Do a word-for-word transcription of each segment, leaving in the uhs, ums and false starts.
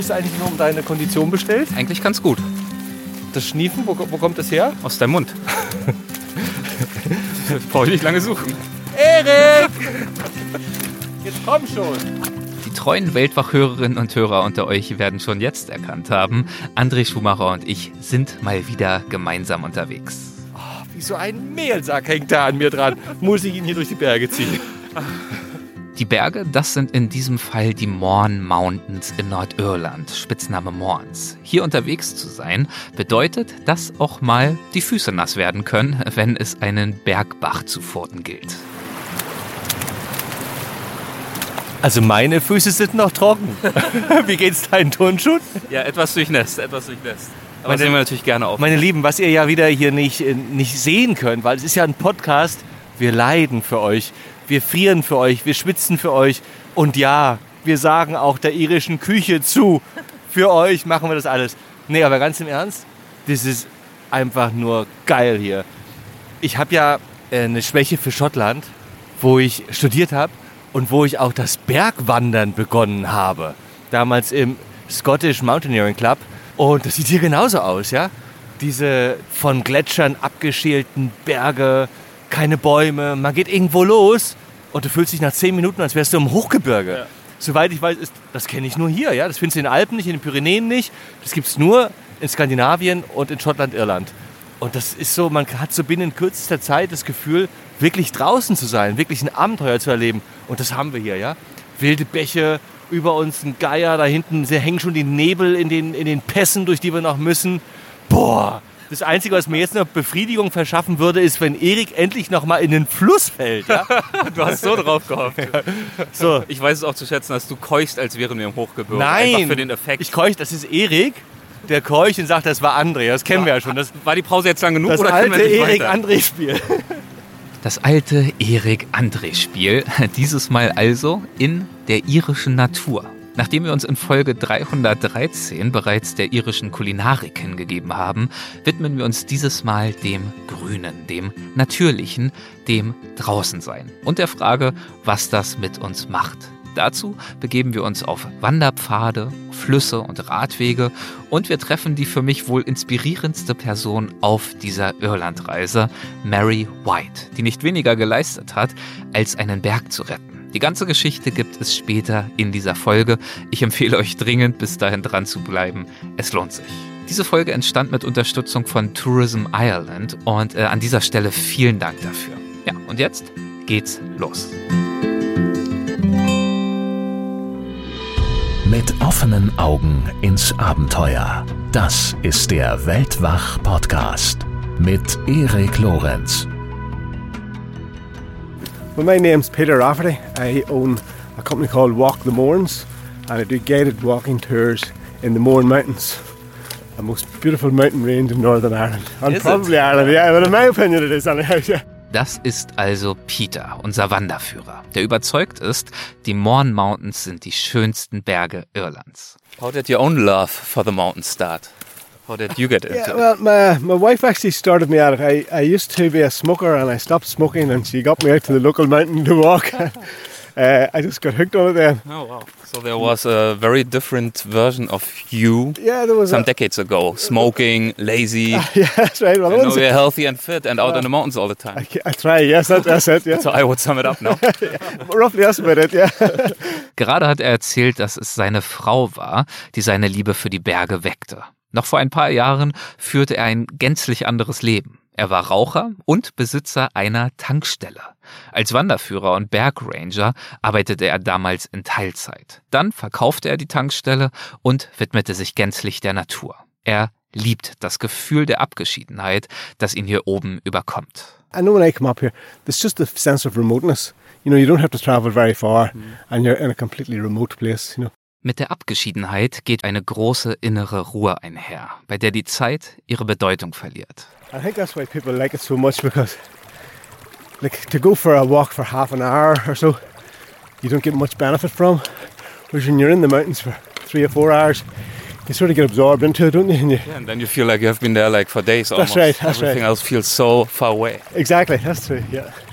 ist eigentlich nur um deine Kondition bestellt? Eigentlich ganz gut. Das Schniefen, wo, wo kommt das her? Aus deinem Mund. Brauche ich nicht lange suchen. Erik! Jetzt komm schon! Die treuen Weltwach-Hörerinnen und Hörer unter euch werden schon jetzt erkannt haben, André Schumacher und ich sind mal wieder gemeinsam unterwegs. Oh, wie so ein Mehlsack hängt da an mir dran. Muss ich ihn hier durch die Berge ziehen. Die Berge, das sind in diesem Fall die Mourne Mountains in Nordirland, Spitzname Mournes. Hier unterwegs zu sein, bedeutet, dass auch mal die Füße nass werden können, wenn es einen Bergbach zu furten gilt. Also meine Füße sind noch trocken. Wie geht's deinen Turnschuhen? Ja, etwas durchnässt, etwas durchnässt. Aber meine, das nehmen wir natürlich gerne auf. Meine Lieben, was ihr ja wieder hier nicht, nicht sehen könnt, weil es ist ja ein Podcast, wir leiden für euch. Wir frieren für euch, wir schwitzen für euch und ja, wir sagen auch der irischen Küche zu. Für euch machen wir das alles. Nee, aber ganz im Ernst, das ist einfach nur geil hier. Ich habe ja eine Schwäche für Schottland, wo ich studiert habe und wo ich auch das Bergwandern begonnen habe. Damals im Scottish Mountaineering Club. Und das sieht hier genauso aus, ja? Diese von Gletschern abgeschälten Berge, keine Bäume, man geht irgendwo los und du fühlst dich nach zehn Minuten, als wärst du im Hochgebirge. Ja. Soweit ich weiß, ist, das kenne ich nur hier. Ja? Das findest du in den Alpen nicht, in den Pyrenäen nicht. Das gibt es nur in Skandinavien und in Schottland, Irland. Und das ist so, man hat so binnen kürzester Zeit das Gefühl, wirklich draußen zu sein, wirklich ein Abenteuer zu erleben. Und das haben wir hier, ja. Wilde Bäche, über uns ein Geier, da hinten hängen schon die Nebel in den, in den Pässen, durch die wir noch müssen. Boah! Das Einzige, was mir jetzt noch Befriedigung verschaffen würde, ist, wenn Erik endlich noch mal in den Fluss fällt. Ja? Du hast so drauf gehofft. Ja. So. Ich weiß es auch zu schätzen, dass du keuchst, als wären wir im Hochgebirge. Nein, einfach für den Effekt. Ich keuch, das ist Erik, der keucht und sagt, das war André. Das kennen ja. wir ja schon. Das, war die Pause jetzt lang genug? Das oder alte Erik-André-Spiel. Das alte Erik-André-Spiel. Dieses Mal also in der irischen Natur. Nachdem wir uns in Folge dreihundertdreizehn bereits der irischen Kulinarik hingegeben haben, widmen wir uns dieses Mal dem Grünen, dem Natürlichen, dem Draußensein und der Frage, was das mit uns macht. Dazu begeben wir uns auf Wanderpfade, Flüsse und Radwege und wir treffen die für mich wohl inspirierendste Person auf dieser Irlandreise, Mary White, die nicht weniger geleistet hat, als einen Berg zu retten. Die ganze Geschichte gibt es später in dieser Folge. Ich empfehle euch dringend, bis dahin dran zu bleiben. Es lohnt sich. Diese Folge entstand mit Unterstützung von Tourism Ireland und äh, an dieser Stelle vielen Dank dafür. Ja, und jetzt geht's los. Mit offenen Augen ins Abenteuer. Das ist der Weltwach-Podcast mit Erik Lorenz. Well, my name's Peter Rafferty. I own a company called Walk the Mournes and I do guided walking tours in the Mourne Mountains, the most beautiful mountain range in Northern Ireland. And is probably it? Ireland, yeah, but in my opinion it is anyhow, yeah. Das ist also Peter, unser Wanderführer, der überzeugt ist, die Mourne Mountains sind die schönsten Berge Irlands. How did your own love for the mountains start? How did you get into yeah, it? well, my, my wife actually started me at it. I, I used to be a smoker and I stopped smoking and she got me out to the local mountain to walk. uh, I just got hooked on it then. Oh, wow. So there was a very different version of you yeah, there was some a, decades ago. Smoking, lazy. yeah, that's right. Well, I know you're healthy and fit and out uh, in the mountains all the time. I, I try, yes, that, that's it. Yeah. So I would sum it up now. yeah, roughly, that's about it, yeah. Gerade hat er erzählt, dass es seine Frau war, die seine Liebe für die Berge weckte. Noch vor ein paar Jahren führte er ein gänzlich anderes Leben. Er war Raucher und Besitzer einer Tankstelle. Als Wanderführer und Bergranger arbeitete er damals in Teilzeit. Dann verkaufte er die Tankstelle und widmete sich gänzlich der Natur. Er liebt das Gefühl der Abgeschiedenheit, das ihn hier oben überkommt. I know when I come up here, there's just a sense of remoteness. You know, you don't have to travel very far and you're in a completely remote place, you know. Mit der Abgeschiedenheit geht eine große innere Ruhe einher, bei der die Zeit ihre Bedeutung verliert. I think that's why people like it so much, because like to go for a walk for half an hour or so, you don't get much benefit from. Whereas when you're in the mountains for three or four hours, you sort of get absorbed into it, don't you? And, you yeah, and then you feel like you have been there like for days almost. That's right, that's Everything right. else feels so far away. Exactly, that's true, yeah.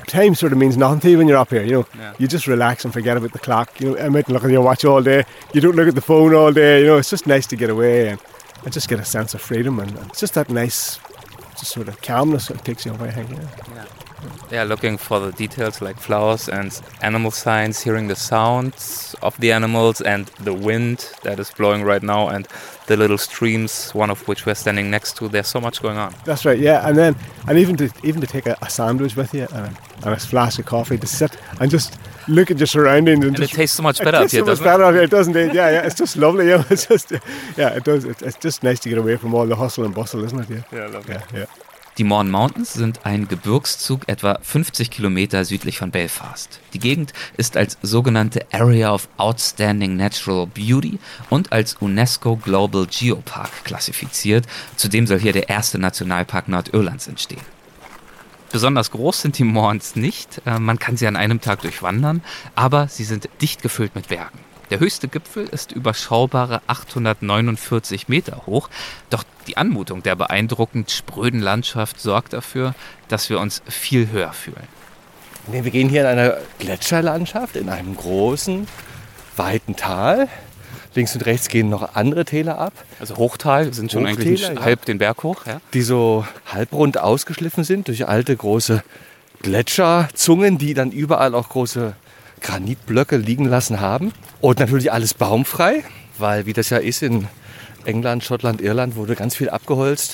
time sort of means nothing to you when you're up here. You know, Yeah. you just relax and forget about the clock. You know, I'm out and look at your watch all day. You don't look at the phone all day. You know, it's just nice to get away and, and just get a sense of freedom. And it's just that nice, just sort of calmness that takes you away. Yeah. Yeah, looking for the details like flowers and animal signs, hearing the sounds of the animals and the wind that is blowing right now and the little streams, one of which we're standing next to. There's so much going on. That's right. Yeah, and then and even to even to take a, a sandwich with you and a, and a flask of coffee to sit and just look at your surroundings and, And it just, tastes so much it better up tastes here, so much doesn't better out here, doesn't it? Yeah, yeah. It's just lovely. Yeah, it's just yeah, it does. It's, it's just nice to get away from all the hustle and bustle, isn't it? Yeah. Yeah, lovely. Yeah, yeah. Die Mourne Mountains sind ein Gebirgszug etwa fünfzig Kilometer südlich von Belfast. Die Gegend ist als sogenannte Area of Outstanding Natural Beauty und als UNESCO Global Geopark klassifiziert. Zudem soll hier der erste Nationalpark Nordirlands entstehen. Besonders groß sind die Mournes nicht, man kann sie an einem Tag durchwandern, aber sie sind dicht gefüllt mit Bergen. Der höchste Gipfel ist überschaubare achthundertneunundvierzig Meter hoch, doch die Anmutung der beeindruckend spröden Landschaft sorgt dafür, dass wir uns viel höher fühlen. Nee, wir gehen hier in einer Gletscherlandschaft, in einem großen, weiten Tal. Links und rechts gehen noch andere Täler ab. Also Hochtal, wir sind schon Hochtäler, eigentlich ja. halb den Berg hoch. Ja? Die so halbrund ausgeschliffen sind durch alte große Gletscherzungen, die dann überall auch große Granitblöcke liegen lassen haben. Und natürlich alles baumfrei, weil wie das ja ist in England, Schottland, Irland wurde ganz viel abgeholzt,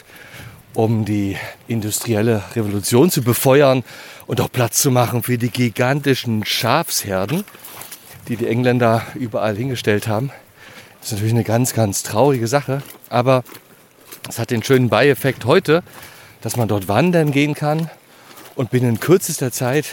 um die industrielle Revolution zu befeuern und auch Platz zu machen für die gigantischen Schafsherden, die die Engländer überall hingestellt haben. Das ist natürlich eine ganz, ganz traurige Sache, aber es hat den schönen Beieffekt heute, dass man dort wandern gehen kann und binnen kürzester Zeit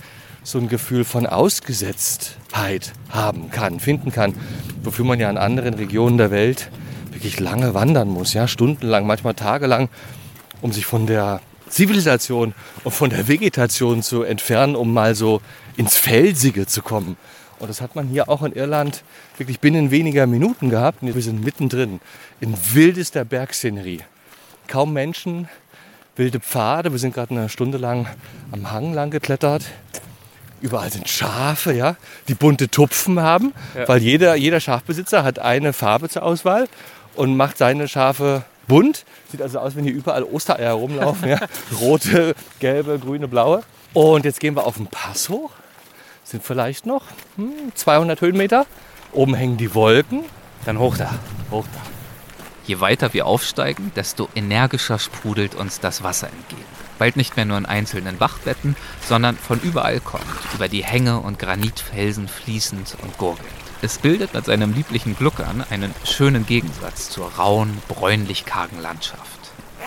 so ein Gefühl von Ausgesetztheit haben kann, finden kann, wofür man ja in anderen Regionen der Welt wirklich lange wandern muss, ja, stundenlang, manchmal tagelang, um sich von der Zivilisation und von der Vegetation zu entfernen, um mal so ins Felsige zu kommen. Und das hat man hier auch in Irland wirklich binnen weniger Minuten gehabt. Wir sind mittendrin in wildester Bergszenerie. Kaum Menschen, wilde Pfade. Wir sind gerade eine Stunde lang am Hang lang geklettert. Überall sind Schafe, ja, die bunte Tupfen haben, ja. Weil jeder, jeder Schafbesitzer hat eine Farbe zur Auswahl und macht seine Schafe bunt. Sieht also aus, wenn hier überall Ostereier rumlaufen. Ja. Rote, gelbe, grüne, blaue. Und jetzt gehen wir auf den Pass hoch. Sind vielleicht noch hm, zweihundert Höhenmeter. Oben hängen die Wolken. Dann hoch da, hoch da. Je weiter wir aufsteigen, desto energischer sprudelt uns das Wasser entgegen. Bald nicht mehr nur in einzelnen Bachbetten, sondern von überall kommend, über die Hänge und Granitfelsen fließend und gurgelnd. Es bildet mit seinem lieblichen Gluckern einen schönen Gegensatz zur rauen, bräunlich-kargen Landschaft.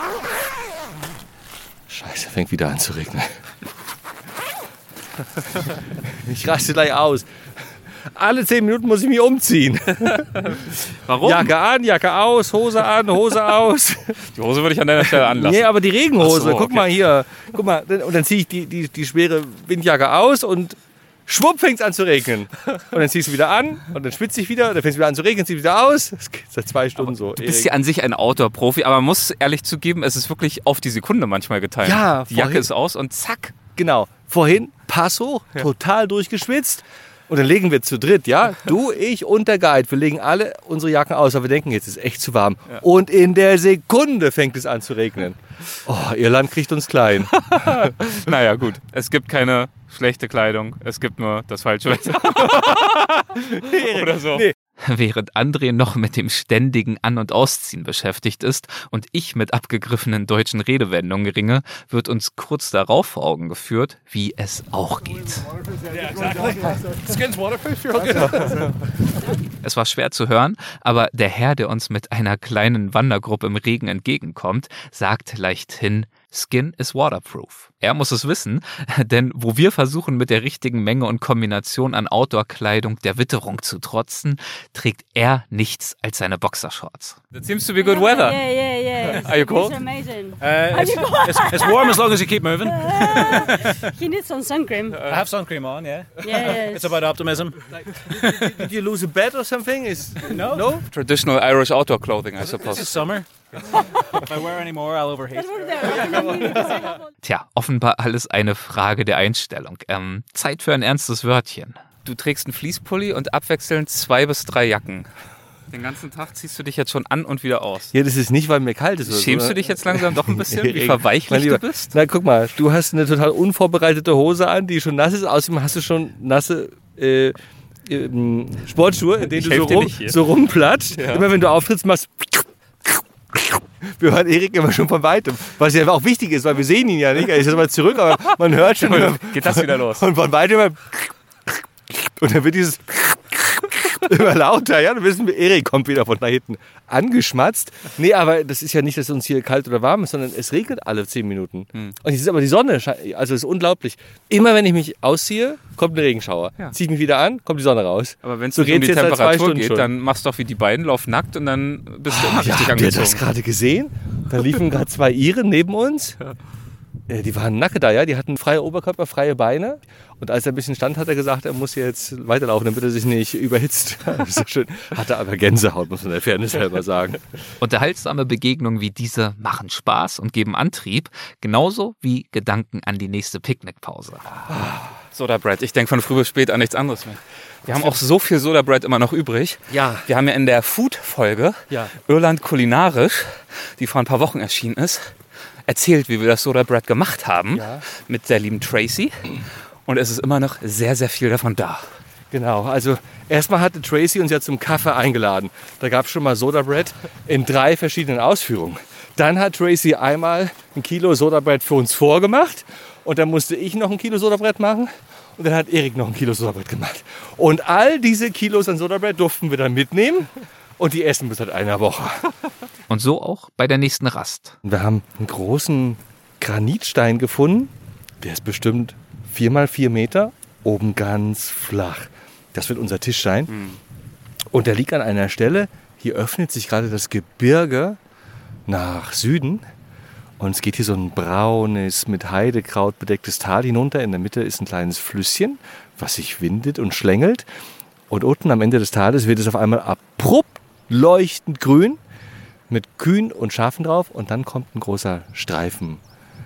Scheiße, fängt wieder an zu regnen. Ich raste gleich aus. Alle zehn Minuten muss ich mich umziehen. Warum? Jacke an, Jacke aus, Hose an, Hose aus. Die Hose würde ich an deiner Stelle anlassen. Nee, aber die Regenhose, Ach so, guck okay. mal hier. Guck mal, und dann ziehe ich die, die, die schwere Windjacke aus und schwupp fängt es an zu regnen. Und dann ziehst du wieder an und dann schwitze ich wieder, dann fängt es wieder an zu regnen, ziehst wieder aus. Das geht seit zwei Stunden so. Du bist ja an sich ein Outdoor-Profi, aber man muss ehrlich zugeben, es ist wirklich auf die Sekunde manchmal geteilt. Ja, die Jacke vorhin- ist aus und zack. Genau. Vorhin, Pass hoch, total durchgeschwitzt. Und dann legen wir zu dritt, ja? Du, ich und der Guide. Wir legen alle unsere Jacken aus, aber wir denken, jetzt ist echt zu warm. Ja. Und in der Sekunde fängt es an zu regnen. Oh, Irland kriegt uns klein. Naja, gut. Es gibt keine schlechte Kleidung, es gibt nur das falsche Wetter. Oder so. Nee. Während André noch mit dem ständigen An- und Ausziehen beschäftigt ist und ich mit abgegriffenen deutschen Redewendungen ringe, wird uns kurz darauf vor Augen geführt, wie es auch geht. Es war schwer zu hören, aber der Herr, der uns mit einer kleinen Wandergruppe im Regen entgegenkommt, sagt leichthin, Skin is waterproof. Er muss es wissen, denn wo wir versuchen, mit der richtigen Menge und Kombination an Outdoor-Kleidung der Witterung zu trotzen, trägt er nichts als seine Boxershorts. That seems to be good weather. Yeah, yeah, yeah. Are you cold? It's amazing. Uh, it's, it's, it's warm as long as you keep moving. He needs some sun cream. I have sun cream on, yeah. Yes. It's about optimism. Did you lose a bet or something? Is No. No? Traditional Irish outdoor clothing, I This suppose. is summer. If I wear any more, I'll overheat. Tja, offenbar alles eine Frage der Einstellung. Ähm, Zeit für ein ernstes Wörtchen. Du trägst einen Fleece-Pulli und abwechselnd zwei bis drei Jacken. Den ganzen Tag ziehst du dich jetzt schon an und wieder aus. Ja, das ist nicht, weil mir kalt ist. Oder Schämst so, du dich jetzt langsam doch ein bisschen, wie Erik, verweichlich mein Lieber, du bist? Na, guck mal, du hast eine total unvorbereitete Hose an, die schon nass ist. Außerdem hast du schon nasse äh, äh, Sportschuhe, in denen Ich du helf so, dir rum, nicht hier. so rumplatscht. Ja. Immer wenn du auftrittst, machst wir hören Erik immer schon von weitem. Was ja auch wichtig ist, weil wir sehen ihn ja nicht. Er ist jetzt mal zurück, aber man hört schon. Geht das wieder los? Und von weitem immer und dann wird dieses immer lauter, ja, du wissen, Erik kommt wieder von da hinten angeschmatzt. Nee, aber das ist ja nicht, dass es uns hier kalt oder warm ist, sondern es regnet alle zehn Minuten. Hm. Und es ist aber die Sonne, also es ist unglaublich. Immer wenn ich mich ausziehe, kommt ein Regenschauer. Ja. Zieh ich mich wieder an, kommt die Sonne raus. Aber wenn es so um die Temperatur geht, schon. Dann machst du doch wie die beiden, lauf nackt und dann bist du immer ja, richtig habt angezogen. ihr das gerade gesehen? Da liefen gerade zwei Iren neben uns. Ja. Die waren nacke da, ja. Die hatten freie Oberkörper, freie Beine. Und als er ein bisschen stand, hat er gesagt, er muss jetzt weiterlaufen, damit er sich nicht überhitzt. Das ist so schön. Hatte aber Gänsehaut, muss man der Fairness selber sagen. Unterhaltsame Begegnungen wie diese machen Spaß und geben Antrieb, genauso wie Gedanken an die nächste Picknickpause. Soda Bread, ich denke von früh bis spät an nichts anderes mehr. Wir haben auch so viel Soda Bread immer noch übrig. Ja. Wir haben ja in der Food-Folge ja. Irland kulinarisch, die vor ein paar Wochen erschienen ist, erzählt, wie wir das Soda Bread gemacht haben ja. mit der lieben Tracy. Und es ist immer noch sehr, sehr viel davon da. Genau, also erstmal hatte Tracy uns ja zum Kaffee eingeladen. Da gab es schon mal Soda Bread in drei verschiedenen Ausführungen. Dann hat Tracy einmal ein Kilo Soda Bread für uns vorgemacht. Und dann musste ich noch ein Kilo Soda Bread machen. Und dann hat Erik noch ein Kilo Soda Bread gemacht. Und all diese Kilos an Soda Bread durften wir dann mitnehmen. Und die essen bis seit einer Woche. Und so auch bei der nächsten Rast. Wir haben einen großen Granitstein gefunden. Der ist bestimmt vier mal vier Meter, oben ganz flach. Das wird unser Tisch sein. Mhm. Und der liegt an einer Stelle, hier öffnet sich gerade das Gebirge nach Süden. Und es geht hier so ein braunes, mit Heidekraut bedecktes Tal hinunter. In der Mitte ist ein kleines Flüsschen, was sich windet und schlängelt. Und unten am Ende des Tales wird es auf einmal abrupt leuchtend grün mit Kühen und Schafen drauf. Und dann kommt ein großer Streifen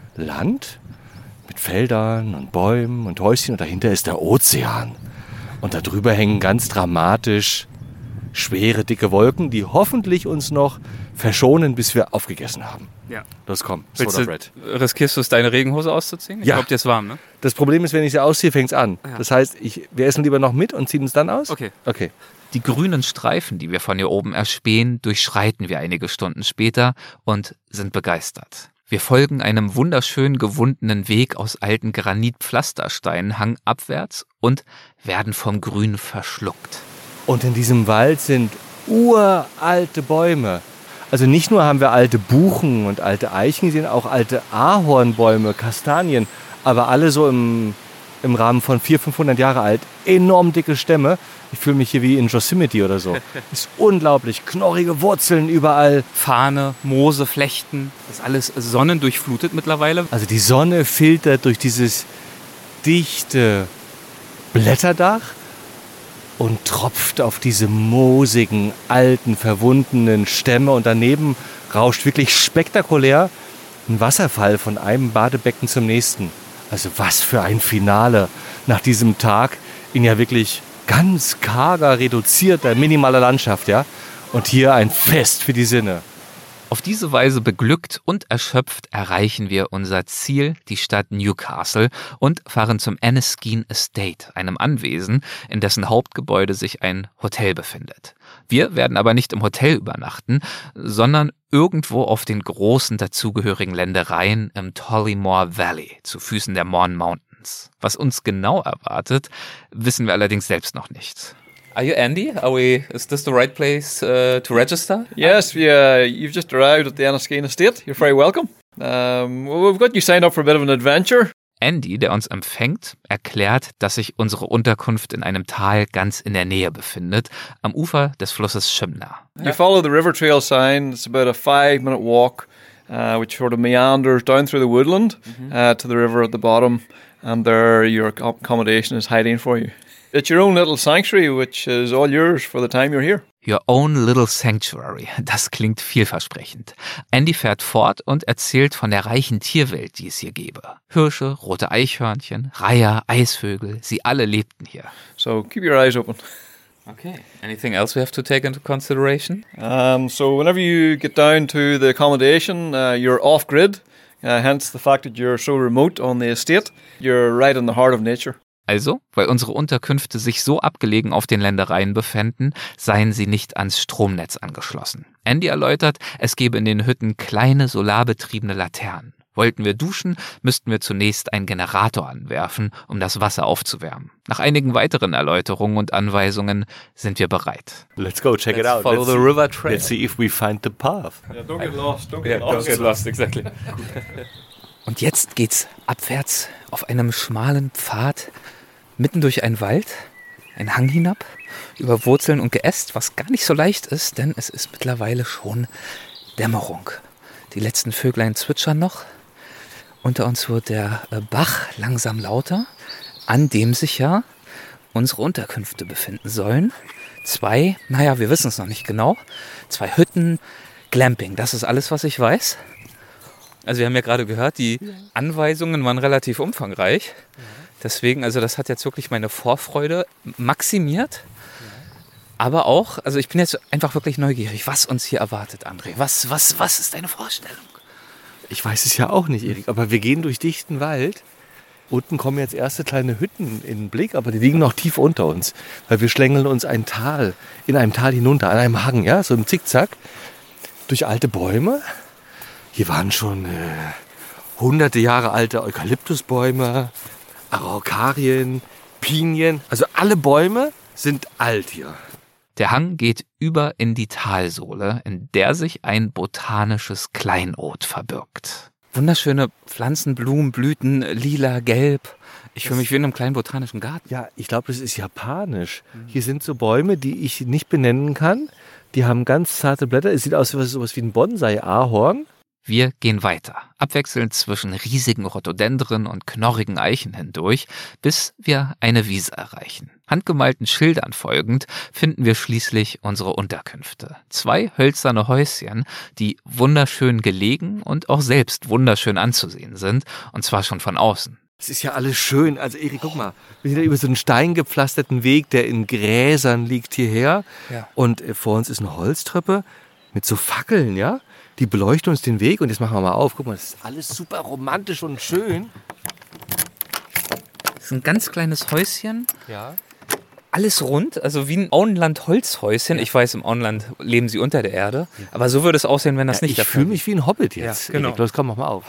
Land mit Feldern und Bäumen und Häuschen. Und dahinter ist der Ozean. Und darüber hängen ganz dramatisch schwere, dicke Wolken, die hoffentlich uns noch verschonen, bis wir aufgegessen haben. Ja. Los, komm, Willst Soda du, Bread. riskierst du es, deine Regenhose auszuziehen? Ich Ja. glaube, dir ist warm, ne? Das Problem ist, wenn ich sie ausziehe, fängt es an. Ja. Das heißt, ich, wir essen lieber noch mit und ziehen uns dann aus? Okay. Okay. Die grünen Streifen, die wir von hier oben erspähen, durchschreiten wir einige Stunden später und sind begeistert. Wir folgen einem wunderschön gewundenen Weg aus alten Granitpflastersteinen hangabwärts und werden vom Grün verschluckt. Und in diesem Wald sind uralte Bäume. Also nicht nur haben wir alte Buchen und alte Eichen gesehen, auch alte Ahornbäume, Kastanien, aber alle so im, im Rahmen von vierhundert, fünfhundert Jahre alt. Enorm dicke Stämme. Ich fühle mich hier wie in Yosemite oder so. Ist unglaublich. Knorrige Wurzeln überall. Fahne, Moose, Flechten, das ist alles sonnendurchflutet mittlerweile. Also die Sonne filtert durch dieses dichte Blätterdach und tropft auf diese moosigen, alten, verwundenen Stämme. Und daneben rauscht wirklich spektakulär ein Wasserfall von einem Badebecken zum nächsten. Also was für ein Finale nach diesem Tag in ja wirklich ganz karger, reduzierter, minimaler Landschaft. Ja? Und hier ein Fest für die Sinne. Auf diese Weise beglückt und erschöpft erreichen wir unser Ziel, die Stadt Newcastle, und fahren zum Enniskeane Estate, einem Anwesen, in dessen Hauptgebäude sich ein Hotel befindet. Wir werden aber nicht im Hotel übernachten, sondern irgendwo auf den großen dazugehörigen Ländereien im Tollymore Valley, zu Füßen der Mourne Mountains. Was uns genau erwartet, wissen wir allerdings selbst noch nicht. Are you Andy? Are we? Is this the right place uh, to register? Yes, yeah, you've just arrived at the Enniskeane Estate. You're very welcome. Um, well, we've got you signed up for a bit of an adventure. Andy, der uns empfängt, erklärt, dass sich unsere Unterkunft in einem Tal ganz in der Nähe befindet, am Ufer des Flusses Shimna. You follow the river trail sign. It's about a five-minute walk, uh, which sort of meanders down through the woodland mm-hmm. uh, to the river at the bottom, and there your accommodation is hiding for you. It's your own little sanctuary, which is all yours for the time you're here. Your own little sanctuary. Das klingt vielversprechend. Andy fährt fort und erzählt von der reichen Tierwelt, die es hier gäbe. Hirsche, rote Eichhörnchen, Reiher, Eisvögel, sie alle lebten hier. So keep your eyes open. Okay. Anything else we have to take into consideration? Um, so whenever you get down to the accommodation, uh, you're off-grid, uh, hence the fact that you're so remote on the estate. You're right in the heart of nature. Also, weil unsere Unterkünfte sich so abgelegen auf den Ländereien befänden, seien sie nicht ans Stromnetz angeschlossen. Andy erläutert, es gebe in den Hütten kleine solarbetriebene Laternen. Wollten wir duschen, müssten wir zunächst einen Generator anwerfen, um das Wasser aufzuwärmen. Nach einigen weiteren Erläuterungen und Anweisungen sind wir bereit. Let's go, check Let's it out. follow let's the see, river trail. Let's see if we find the path. Yeah, don't get lost, don't get lost. lost, exactly. Und jetzt geht's abwärts auf einem schmalen Pfad, mitten durch einen Wald, einen Hang hinab, über Wurzeln und Geäst, was gar nicht so leicht ist, denn es ist mittlerweile schon Dämmerung. Die letzten Vöglein zwitschern noch. Unter uns wird der Bach langsam lauter, an dem sich ja unsere Unterkünfte befinden sollen. Zwei, naja, wir wissen es noch nicht genau, zwei Hütten, Glamping, das ist alles, was ich weiß. Also wir haben ja gerade gehört, die Anweisungen waren relativ umfangreich. Deswegen, also das hat jetzt wirklich meine Vorfreude maximiert. Aber auch, also ich bin jetzt einfach wirklich neugierig, was uns hier erwartet, André. Was, was, was ist deine Vorstellung? Ich weiß es ja auch nicht, Erik, aber wir gehen durch dichten Wald. Unten kommen jetzt erste kleine Hütten in den Blick, aber die liegen noch tief unter uns, weil wir schlängeln uns ein Tal, in einem Tal hinunter, an einem Hang, ja, so im Zickzack, durch alte Bäume. Hier waren schon äh, hunderte Jahre alte Eukalyptusbäume, Araukarien, Pinien, also alle Bäume sind alt hier. Der Hang geht über in die Talsohle, in der sich ein botanisches Kleinod verbirgt. Wunderschöne Pflanzen, Blumen, Blüten, lila, gelb. Ich fühle mich wie in einem kleinen botanischen Garten. Ja, ich glaube, das ist japanisch. Hier sind so Bäume, die ich nicht benennen kann. Die haben ganz zarte Blätter. Es sieht aus wie sowas wie ein Bonsai-Ahorn. Wir gehen weiter, abwechselnd zwischen riesigen Rhododendren und knorrigen Eichen hindurch, bis wir eine Wiese erreichen. Handgemalten Schildern folgend finden wir schließlich unsere Unterkünfte. Zwei hölzerne Häuschen, die wunderschön gelegen und auch selbst wunderschön anzusehen sind, und zwar schon von außen. Es ist ja alles schön. Also Erik, guck mal, wir sind ja über so einen steingepflasterten Weg, der in Gräsern liegt, hierher. Ja. Und vor uns ist eine Holztreppe mit so Fackeln, ja? Die beleuchten uns den Weg und jetzt machen wir mal auf. Guck mal, das ist alles super romantisch und schön. Das ist ein ganz kleines Häuschen. Ja. Alles rund, also wie ein Auenland-Holzhäuschen. Ich weiß, im Auenland leben sie unter der Erde. Aber so würde es aussehen, wenn das Ja, nicht ich der Fall fühle mich wie ein Hobbit jetzt. Ja, genau. Erik, los, komm, mach mal auf.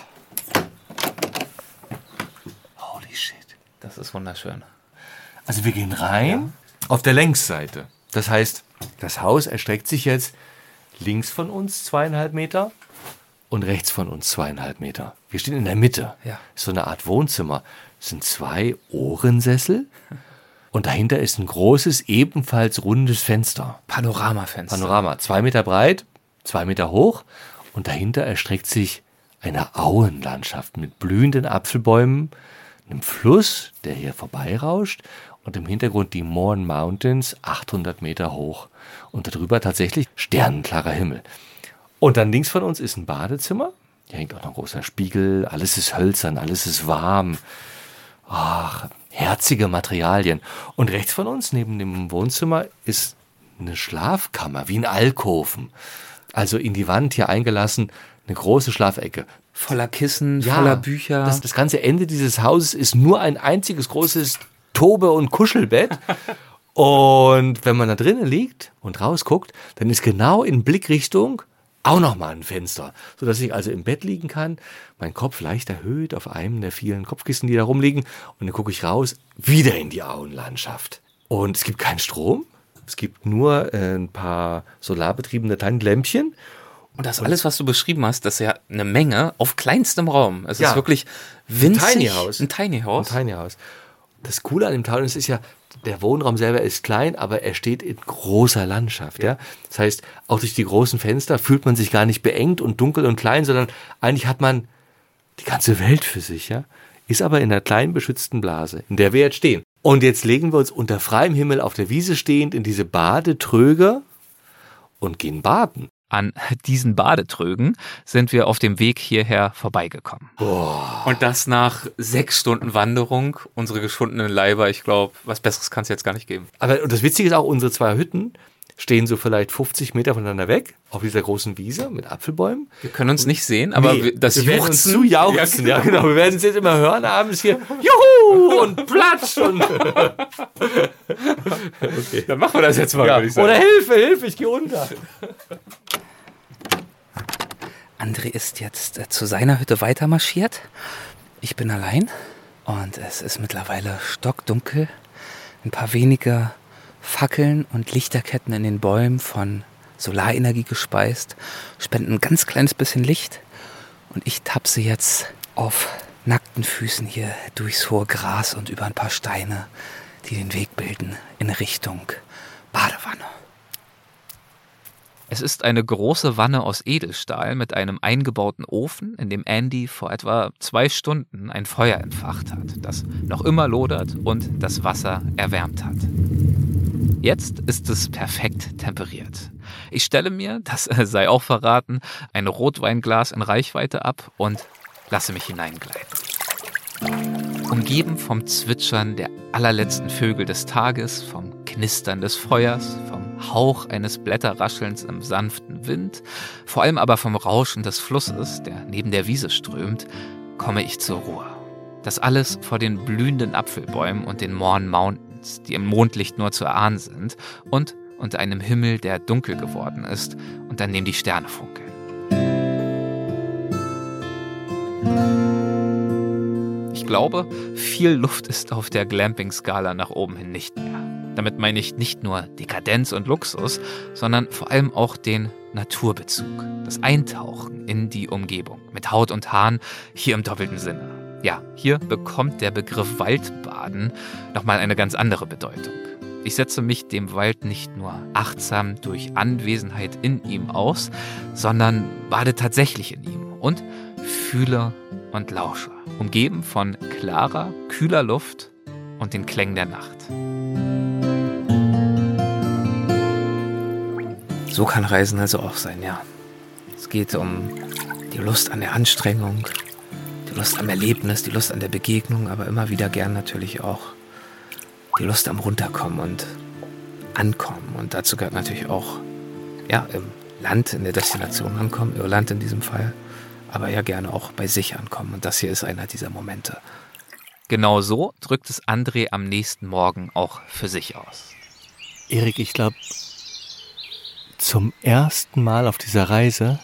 Holy shit. Das ist wunderschön. Also wir gehen rein auf der Längsseite. Das heißt, das Haus erstreckt sich jetzt links von uns zweieinhalb Meter und rechts von uns zweieinhalb Meter. Wir stehen in der Mitte. Ja. So eine Art Wohnzimmer. Es sind zwei Ohrensessel und dahinter ist ein großes, ebenfalls rundes Fenster. Panoramafenster. Panorama. Zwei Meter breit, zwei Meter hoch und dahinter erstreckt sich eine Auenlandschaft mit blühenden Apfelbäumen, einem Fluss, der hier vorbeirauscht und im Hintergrund die Mourne Mountains, achthundert Meter hoch. Und darüber tatsächlich sternenklarer Himmel. Und dann links von uns ist ein Badezimmer. Hier hängt auch noch ein großer Spiegel. Alles ist hölzern, alles ist warm. Ach, herzige Materialien. Und rechts von uns, neben dem Wohnzimmer, ist eine Schlafkammer, wie ein Alkoven. Also in die Wand hier eingelassen, eine große Schlafecke. Voller Kissen, Ja, voller Bücher. Das, das ganze Ende dieses Hauses ist nur ein einziges großes Tobe- und Kuschelbett. Und wenn man da drinnen liegt und rausguckt, dann ist genau in Blickrichtung auch nochmal ein Fenster, sodass ich also im Bett liegen kann, mein Kopf leicht erhöht auf einem der vielen Kopfkissen, die da rumliegen, und dann gucke ich raus, wieder in die Auenlandschaft. Und es gibt keinen Strom, es gibt nur äh, ein paar solarbetriebene kleine Lämpchen. Und das alles, was du beschrieben hast, das ist ja eine Menge auf kleinstem Raum. Es Ja. ist wirklich winzig. Tiny House. Ein Tiny House. Ein Tiny House. Das Coole an dem Town ist ja, der Wohnraum selber ist klein, aber er steht in großer Landschaft. Ja. Das heißt, auch durch die großen Fenster fühlt man sich gar nicht beengt und dunkel und klein, sondern eigentlich hat man die ganze Welt für sich. Ja. Ist aber in einer kleinen beschützten Blase, in der wir jetzt stehen. Und jetzt legen wir uns unter freiem Himmel auf der Wiese stehend in diese Badetröge und gehen baden. An diesen Badetrögen sind wir auf dem Weg hierher vorbeigekommen. Boah. Und das nach sechs Stunden Wanderung, unsere geschundenen Leiber, ich glaube, was Besseres kann es jetzt gar nicht geben. Aber und das Witzige ist auch, unsere zwei Hütten stehen so vielleicht fünfzig Meter voneinander weg, auf dieser großen Wiese mit Apfelbäumen. Wir können uns nicht sehen, aber Nee, wir, das wir werden uns Juchzen, zu jauchzen. Ja, genau. Wir werden es jetzt immer hören abends hier. Juhu! Und Platsch! Und okay. Dann machen wir das jetzt mal, ja. würde ich sagen. Oder Hilfe, Hilfe, ich gehe unter. André ist jetzt äh, zu seiner Hütte weitermarschiert. Ich bin allein und es ist mittlerweile stockdunkel. Ein paar wenige Fackeln und Lichterketten in den Bäumen von Solarenergie gespeist spenden ein ganz kleines bisschen Licht. Und ich tapse jetzt auf nackten Füßen hier durchs hohe Gras und über ein paar Steine, die den Weg bilden in Richtung Badewanne. Es ist eine große Wanne aus Edelstahl mit einem eingebauten Ofen, in dem Andy vor etwa zwei Stunden ein Feuer entfacht hat, das noch immer lodert und das Wasser erwärmt hat. Jetzt ist es perfekt temperiert. Ich stelle mir, das sei auch verraten, ein Rotweinglas in Reichweite ab und lasse mich hineingleiten. Umgeben vom Zwitschern der allerletzten Vögel des Tages, vom Knistern des Feuers, vom Hauch eines Blätterraschelns im sanften Wind, vor allem aber vom Rauschen des Flusses, der neben der Wiese strömt, komme ich zur Ruhe. Das alles vor den blühenden Apfelbäumen und den Mourne Mountains, die im Mondlicht nur zu erahnen sind, und unter einem Himmel, der dunkel geworden ist und an dem die Sterne funkeln. Ich glaube, viel Luft ist auf der Glamping-Skala nach oben hin nicht mehr. Damit meine ich nicht nur Dekadenz und Luxus, sondern vor allem auch den Naturbezug, das Eintauchen in die Umgebung mit Haut und Haaren, hier im doppelten Sinne. Ja, hier bekommt der Begriff Waldbaden nochmal eine ganz andere Bedeutung. Ich setze mich dem Wald nicht nur achtsam durch Anwesenheit in ihm aus, sondern bade tatsächlich in ihm und fühle und lausche, umgeben von klarer, kühler Luft und den Klängen der Nacht. So kann Reisen also auch sein, ja. Es geht um die Lust an der Anstrengung, die Lust am Erlebnis, die Lust an der Begegnung, aber immer wieder gern natürlich auch die Lust am Runterkommen und Ankommen. Und dazu gehört natürlich auch, ja, im Land, in der Destination ankommen, Irland in diesem Fall, aber ja gerne auch bei sich ankommen. Und das hier ist einer dieser Momente. Genau so drückt es André am nächsten Morgen auch für sich aus. Erik, ich glaube, zum ersten Mal auf dieser Reise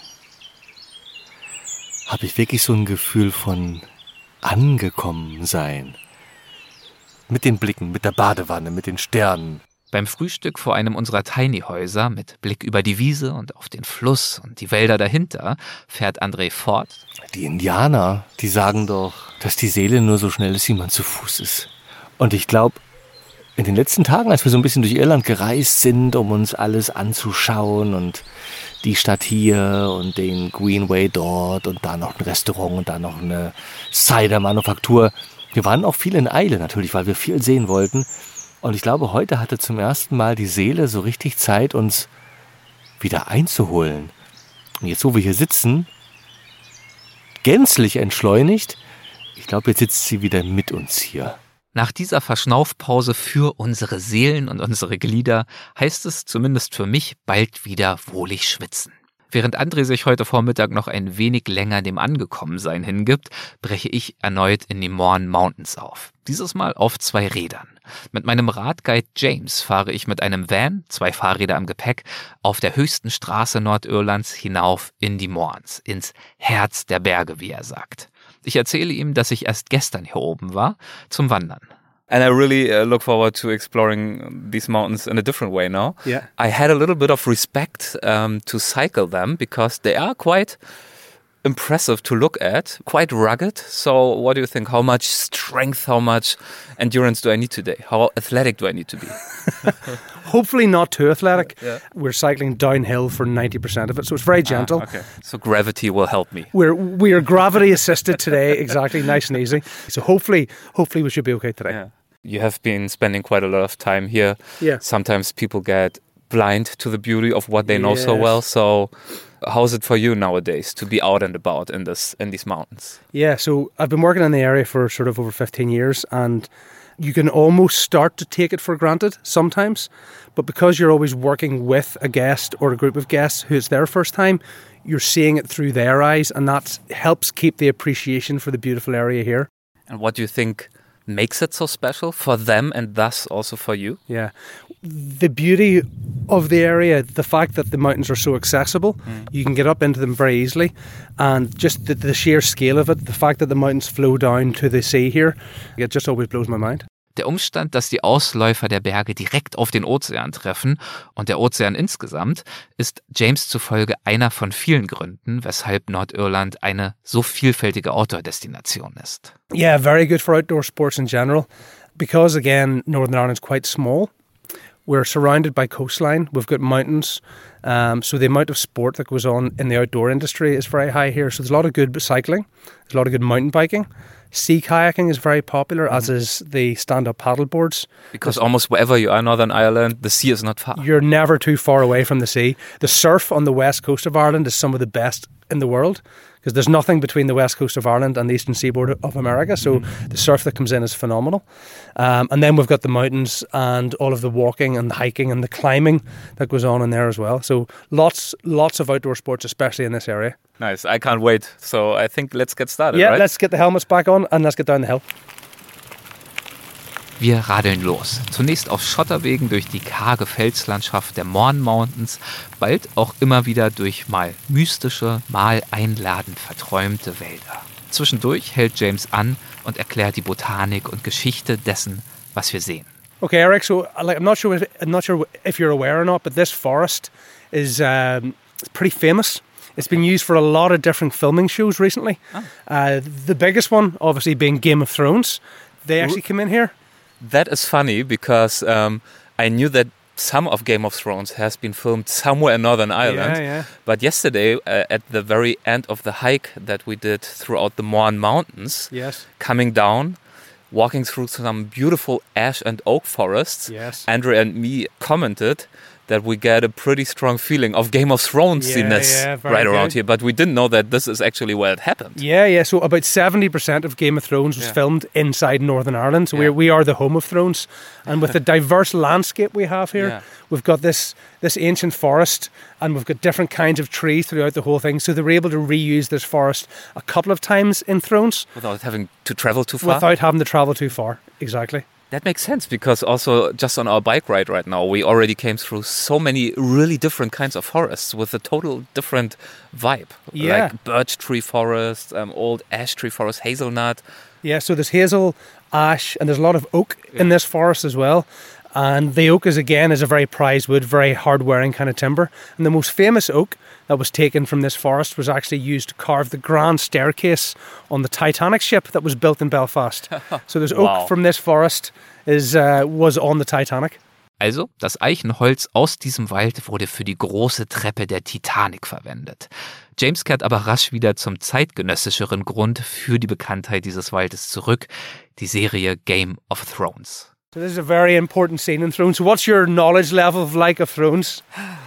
habe ich wirklich so ein Gefühl von angekommen sein. Mit den Blicken, mit der Badewanne, mit den Sternen. Beim Frühstück vor einem unserer Tiny-Häuser mit Blick über die Wiese und auf den Fluss und die Wälder dahinter fährt André fort. Die Indianer, die sagen doch, dass die Seele nur so schnell ist, wie man zu Fuß ist. Und ich glaube, in den letzten Tagen, als wir so ein bisschen durch Irland gereist sind, um uns alles anzuschauen und die Stadt hier und den Greenway dort und da noch ein Restaurant und da noch eine Cider-Manufaktur. Wir waren auch viel in Eile natürlich, weil wir viel sehen wollten. Und ich glaube, heute hatte zum ersten Mal die Seele so richtig Zeit, uns wieder einzuholen. Und jetzt, wo wir hier sitzen, gänzlich entschleunigt, ich glaube, jetzt sitzt sie wieder mit uns hier. Nach dieser Verschnaufpause für unsere Seelen und unsere Glieder heißt es zumindest für mich bald wieder wohlig schwitzen. Während André sich heute Vormittag noch ein wenig länger dem Angekommensein hingibt, breche ich erneut in die Mourne Mountains auf. Dieses Mal auf zwei Rädern. Mit meinem Radguide James fahre ich mit einem Van, zwei Fahrräder am Gepäck, auf der höchsten Straße Nordirlands hinauf in die Mournes, ins Herz der Berge, wie er sagt. Ich erzähle ihm, dass ich erst gestern hier oben war, zum Wandern. And I really uh, look forward to exploring these mountains in a different way now. Yeah. I had a little bit of respect um, to cycle them because they are quite impressive to look at, quite rugged. So what do you think? How much strength, how much endurance do I need today? How athletic do I need to be? Hopefully not too athletic. Yeah. We're cycling downhill for ninety percent of it, so it's very gentle. Ah, okay. So gravity will help me. We're we are gravity assisted today, exactly, nice and easy. So hopefully, hopefully we should be okay today. Yeah. You have been spending quite a lot of time here. Yeah. Sometimes people get blind to the beauty of what they know so Yes. well. So how's it for you nowadays to be out and about in this in these mountains? Yeah, so I've been working in the area for sort of over fifteen years, and you can almost start to take it for granted sometimes, but because you're always working with a guest or a group of guests who it's their first time, you're seeing it through their eyes, and that helps keep the appreciation for the beautiful area here. And what do you think makes it so special for them and thus also for you? Yeah. The beauty of the area, the fact that the mountains are so accessible, you can get up into them very easily, and just the, the sheer scale of it, the fact that the mountains flow down to the sea here, it just always blows my mind. Der Umstand, dass die Ausläufer der Berge direkt auf den Ozean treffen und der Ozean insgesamt, ist James zufolge einer von vielen Gründen, weshalb Nordirland eine so vielfältige Outdoor-Destination ist. Yeah, very good for outdoor sports in general. Because, again, Northern Ireland's quite small. We're surrounded by coastline. We've got mountains. Um, so the amount of sport that goes on in the outdoor industry is very high here. So there's a lot of good cycling. There's a lot of good mountain biking. Sea kayaking is very popular, mm-hmm. as is the stand-up paddle boards. Because almost wherever you are in Northern Ireland, the sea is not far. You're never too far away from the sea. The surf on the west coast of Ireland is some of the best in the world, because there's nothing between the west coast of Ireland and the eastern seaboard of America, so mm-hmm. the surf that comes in is phenomenal. Um, and then we've got the mountains and all of the walking and the hiking and the climbing that goes on in there as well. So lots, lots of outdoor sports, especially in this area. Nice, I can't wait. So I think let's get started, Yeah, right? let's get the helmets back on and let's get down the hill. Wir radeln los. Zunächst auf Schotterwegen durch die karge Felslandschaft der Mourne Mountains, bald auch immer wieder durch mal mystische, mal einladend verträumte Wälder. Zwischendurch hält James an und erklärt die Botanik und Geschichte dessen, was wir sehen. Okay, Eric. So, like, I'm not sure if, I'm not sure if you're aware or not, but this forest is um, it's pretty famous. It's been used for a lot of different filming shows recently. Oh. Uh, the biggest one, obviously, being Game of Thrones. They actually come in here. That is funny because um, I knew that some of Game of Thrones has been filmed somewhere in Northern Ireland. Yeah, yeah. But yesterday, uh, at the very end of the hike that we did throughout the Mourne Mountains, yes. coming down, walking through some beautiful ash and oak forests, yes. Andrew and me commented that we get a pretty strong feeling of Game of Thrones-iness yeah, yeah, right around good. here. But we didn't know that this is actually where it happened. Yeah, yeah. So about seventy percent of Game of Thrones was yeah. filmed inside Northern Ireland. So yeah. we're, we are the home of Thrones. And with the diverse landscape we have here, yeah. we've got this, this ancient forest, and we've got different kinds of trees throughout the whole thing. So they were able to reuse this forest a couple of times in Thrones. Without having to travel too far? Without having to travel too far, exactly. That makes sense, because also just on our bike ride right now, we already came through so many really different kinds of forests with a total different vibe. Yeah. Like birch tree forest, um, old ash tree forest, hazelnut. Yeah, so there's hazel, ash, and there's a lot of oak yeah. in this forest as well. And the oak is, again, is a very prized wood, very hard-wearing kind of timber. And the most famous oak that was taken from this forest was actually used to carve the grand staircase on the Titanic ship that was built in Belfast. So there's wow. oak from this forest is uh, was on the Titanic. Also, das Eichenholz aus diesem Wald wurde für die große Treppe der Titanic verwendet. James kehrt aber rasch wieder zum zeitgenössischeren Grund für die Bekanntheit dieses Waldes zurück, die Serie Game of Thrones. So this is a very important scene in Thrones. So what's your knowledge level of like of Thrones?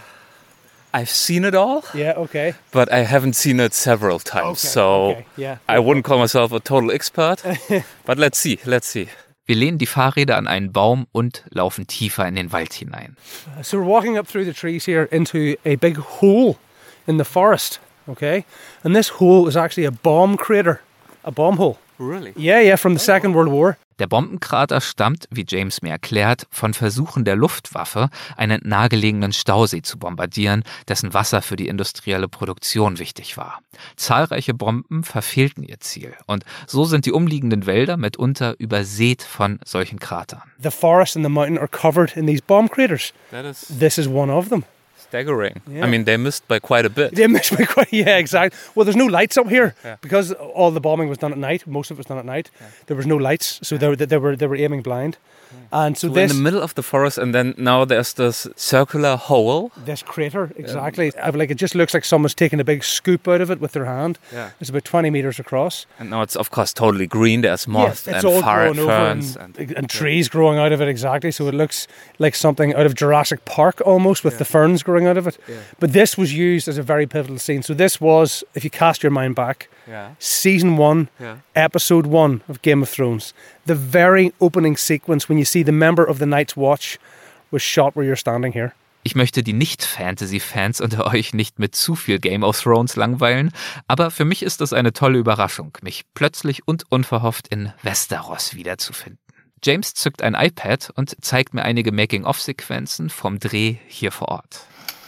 I've seen it all. Yeah, okay. But I haven't seen it several times. Okay, so okay, yeah. I wouldn't call myself a total expert. But let's see, let's see. Wir lehnen die Fahrräder an einen Baum und laufen tiefer in den Wald hinein. So we're walking up through the trees here into a big hole in the forest, okay? And this hole is actually a bomb crater, a bomb hole. Really? Yeah, yeah, from the Second World War. Der Bombenkrater stammt, wie James mir erklärt, von Versuchen der Luftwaffe, einen nahegelegenen Stausee zu bombardieren, dessen Wasser für die industrielle Produktion wichtig war. Zahlreiche Bomben verfehlten ihr Ziel und so sind die umliegenden Wälder mitunter übersät von solchen Kratern. The forest and the mountain are covered in these bomb craters. That is This is one of them. staggering. Yeah. I mean, they missed by quite a bit. They missed by quite, yeah, exactly. Well, there's no lights up here Yeah. because all the bombing was done at night. Most of it was done at night. Yeah. There was no lights, so they were, they were they were aiming blind. And so, So this in the middle of the forest, and then now there's this circular hole. this crater, exactly. Um, like it just looks like someone's taken a big scoop out of it with their hand. Yeah. It's about twenty meters across. And now it's, of course, totally green. There's moss Yeah, it's and all far growing over ferns. and, And, and trees growing out of it, exactly. So it looks like something out of Jurassic Park almost, with the ferns growing out of it. But this was used as a very pivotal scene. So this was, if you cast your mind back, yeah. season one, Yeah. episode one of Game of Thrones. The very opening sequence when you see the member of the Night's Watch was shot where you're standing here. Ich möchte die Nicht-Fantasy-Fans unter euch nicht mit zu viel Game of Thrones langweilen, aber für mich ist es eine tolle Überraschung, mich plötzlich und unverhofft in Westeros wiederzufinden. James zückt ein iPad und zeigt mir einige Making-of-Sequenzen vom Dreh hier vor Ort.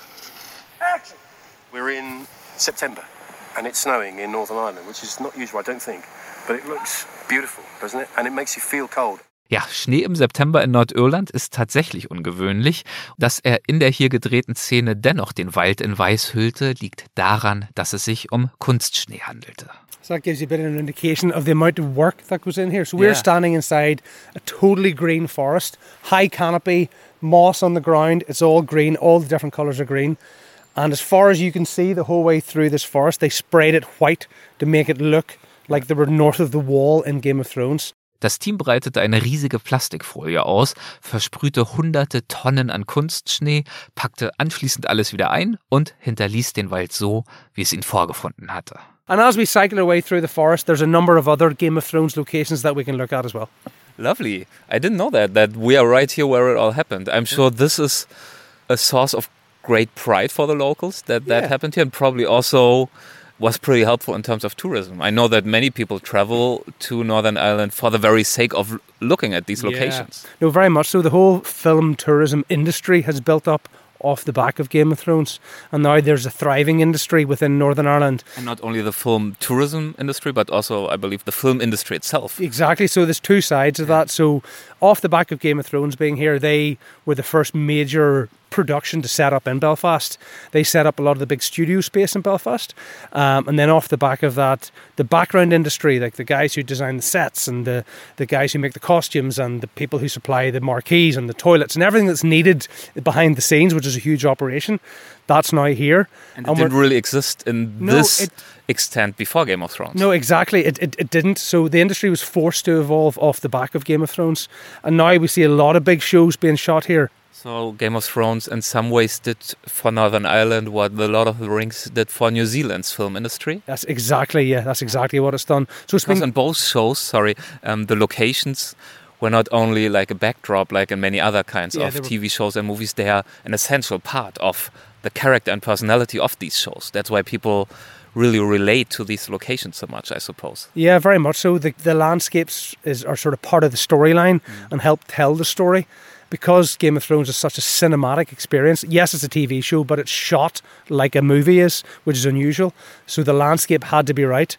Action! We're in September and it's snowing in Northern Ireland, which is not usual, I don't think, but it looks beautiful, doesn't it? And it makes you feel cold. Ja, Schnee im September in Nordirland ist tatsächlich ungewöhnlich. Dass er in der hier gedrehten Szene dennoch den Wald in Weiß hüllte, liegt daran, dass es sich um Kunstschnee handelte. So that gives you a bit of an indication of the amount of work that goes in here. So we're Yeah. standing inside a totally green forest, high canopy, moss on the ground. It's all green. All the different colours are green. And as far as you can see, the whole way through this forest, they sprayed it white to make it look like they were north of the wall in Game of Thrones. Das Team breitete eine riesige Plastikfolie aus, versprühte hunderte Tonnen an Kunstschnee, packte anschließend alles wieder ein und hinterließ den Wald so, wie es ihn vorgefunden hatte. And as we cycle our way through the forest, there's a number of other Game of Thrones locations that we can look at as well. Lovely. I didn't know that, that we are right here where it all happened. I'm sure this is a source of great pride for the locals that that Yeah. happened here, and probably also was pretty helpful in terms of tourism. I know that many people travel to Northern Ireland for the very sake of looking at these locations. No, very much so. The whole film tourism industry has built up off the back of Game of Thrones. And now there's a thriving industry within Northern Ireland. And not only the film tourism industry, but also, I believe, the film industry itself. Exactly. So there's two sides of that. So off the back of Game of Thrones being here, they were the first major production to set up in Belfast. They set up a lot of the big studio space in Belfast. Um, and then off the back of that, the background industry, like the guys who design the sets and the, the guys who make the costumes and the people who supply the marquees and the toilets and everything that's needed behind the scenes, which is a huge operation, that's now here. And it And didn't we're- really exist in No, this it- extent before Game of Thrones. No, exactly. It, it it didn't. So the industry was forced to evolve off the back of Game of Thrones. And now we see a lot of big shows being shot here. So Game of Thrones in some ways did for Northern Ireland what The Lord of the Rings did for New Zealand's film industry. That's exactly, yeah, that's exactly what it's done. So it's Because been in both shows, sorry, um, the locations were not only like a backdrop like in many other kinds Yeah, of they were- T V shows and movies, they are an essential part of the character and personality of these shows. That's why people really relate to these locations so much, I suppose. Yeah, very much so. The, the landscapes is are sort of part of the storyline and help tell the story. Because Game of Thrones is such a cinematic experience, yes, it's a T V show, but it's shot like a movie is, which is unusual. So the landscape had to be right.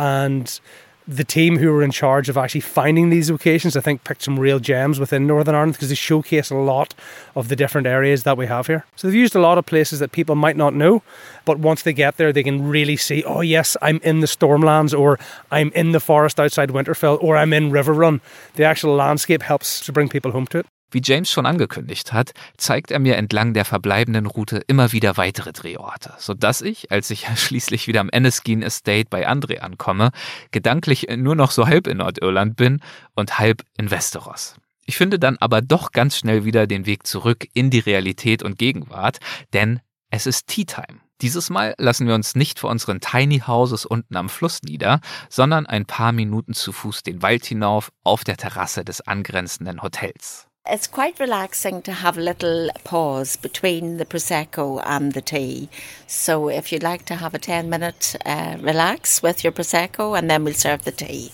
And the team who were in charge of actually finding these locations, I think, picked some real gems within Northern Ireland because they showcase a lot of the different areas that we have here. So they've used a lot of places that people might not know, but once they get there, they can really see, oh yes, I'm in the Stormlands, or I'm in the forest outside Winterfell, or I'm in Riverrun. The actual landscape helps to bring people home to it. Wie James schon angekündigt hat, zeigt er mir entlang der verbleibenden Route immer wieder weitere Drehorte, sodass ich, als ich schließlich wieder am Enniskeen Estate bei André ankomme, gedanklich nur noch so halb in Nordirland bin und halb in Westeros. Ich finde dann aber doch ganz schnell wieder den Weg zurück in die Realität und Gegenwart, denn es ist Tea Time. Dieses Mal lassen wir uns nicht vor unseren Tiny Houses unten am Fluss nieder, sondern ein paar Minuten zu Fuß den Wald hinauf auf der Terrasse des angrenzenden Hotels. It's quite relaxing to have a little pause between the Prosecco and the tea. So if you'd like to have a ten minute uh, relax with your Prosecco, and then we'll serve the tea.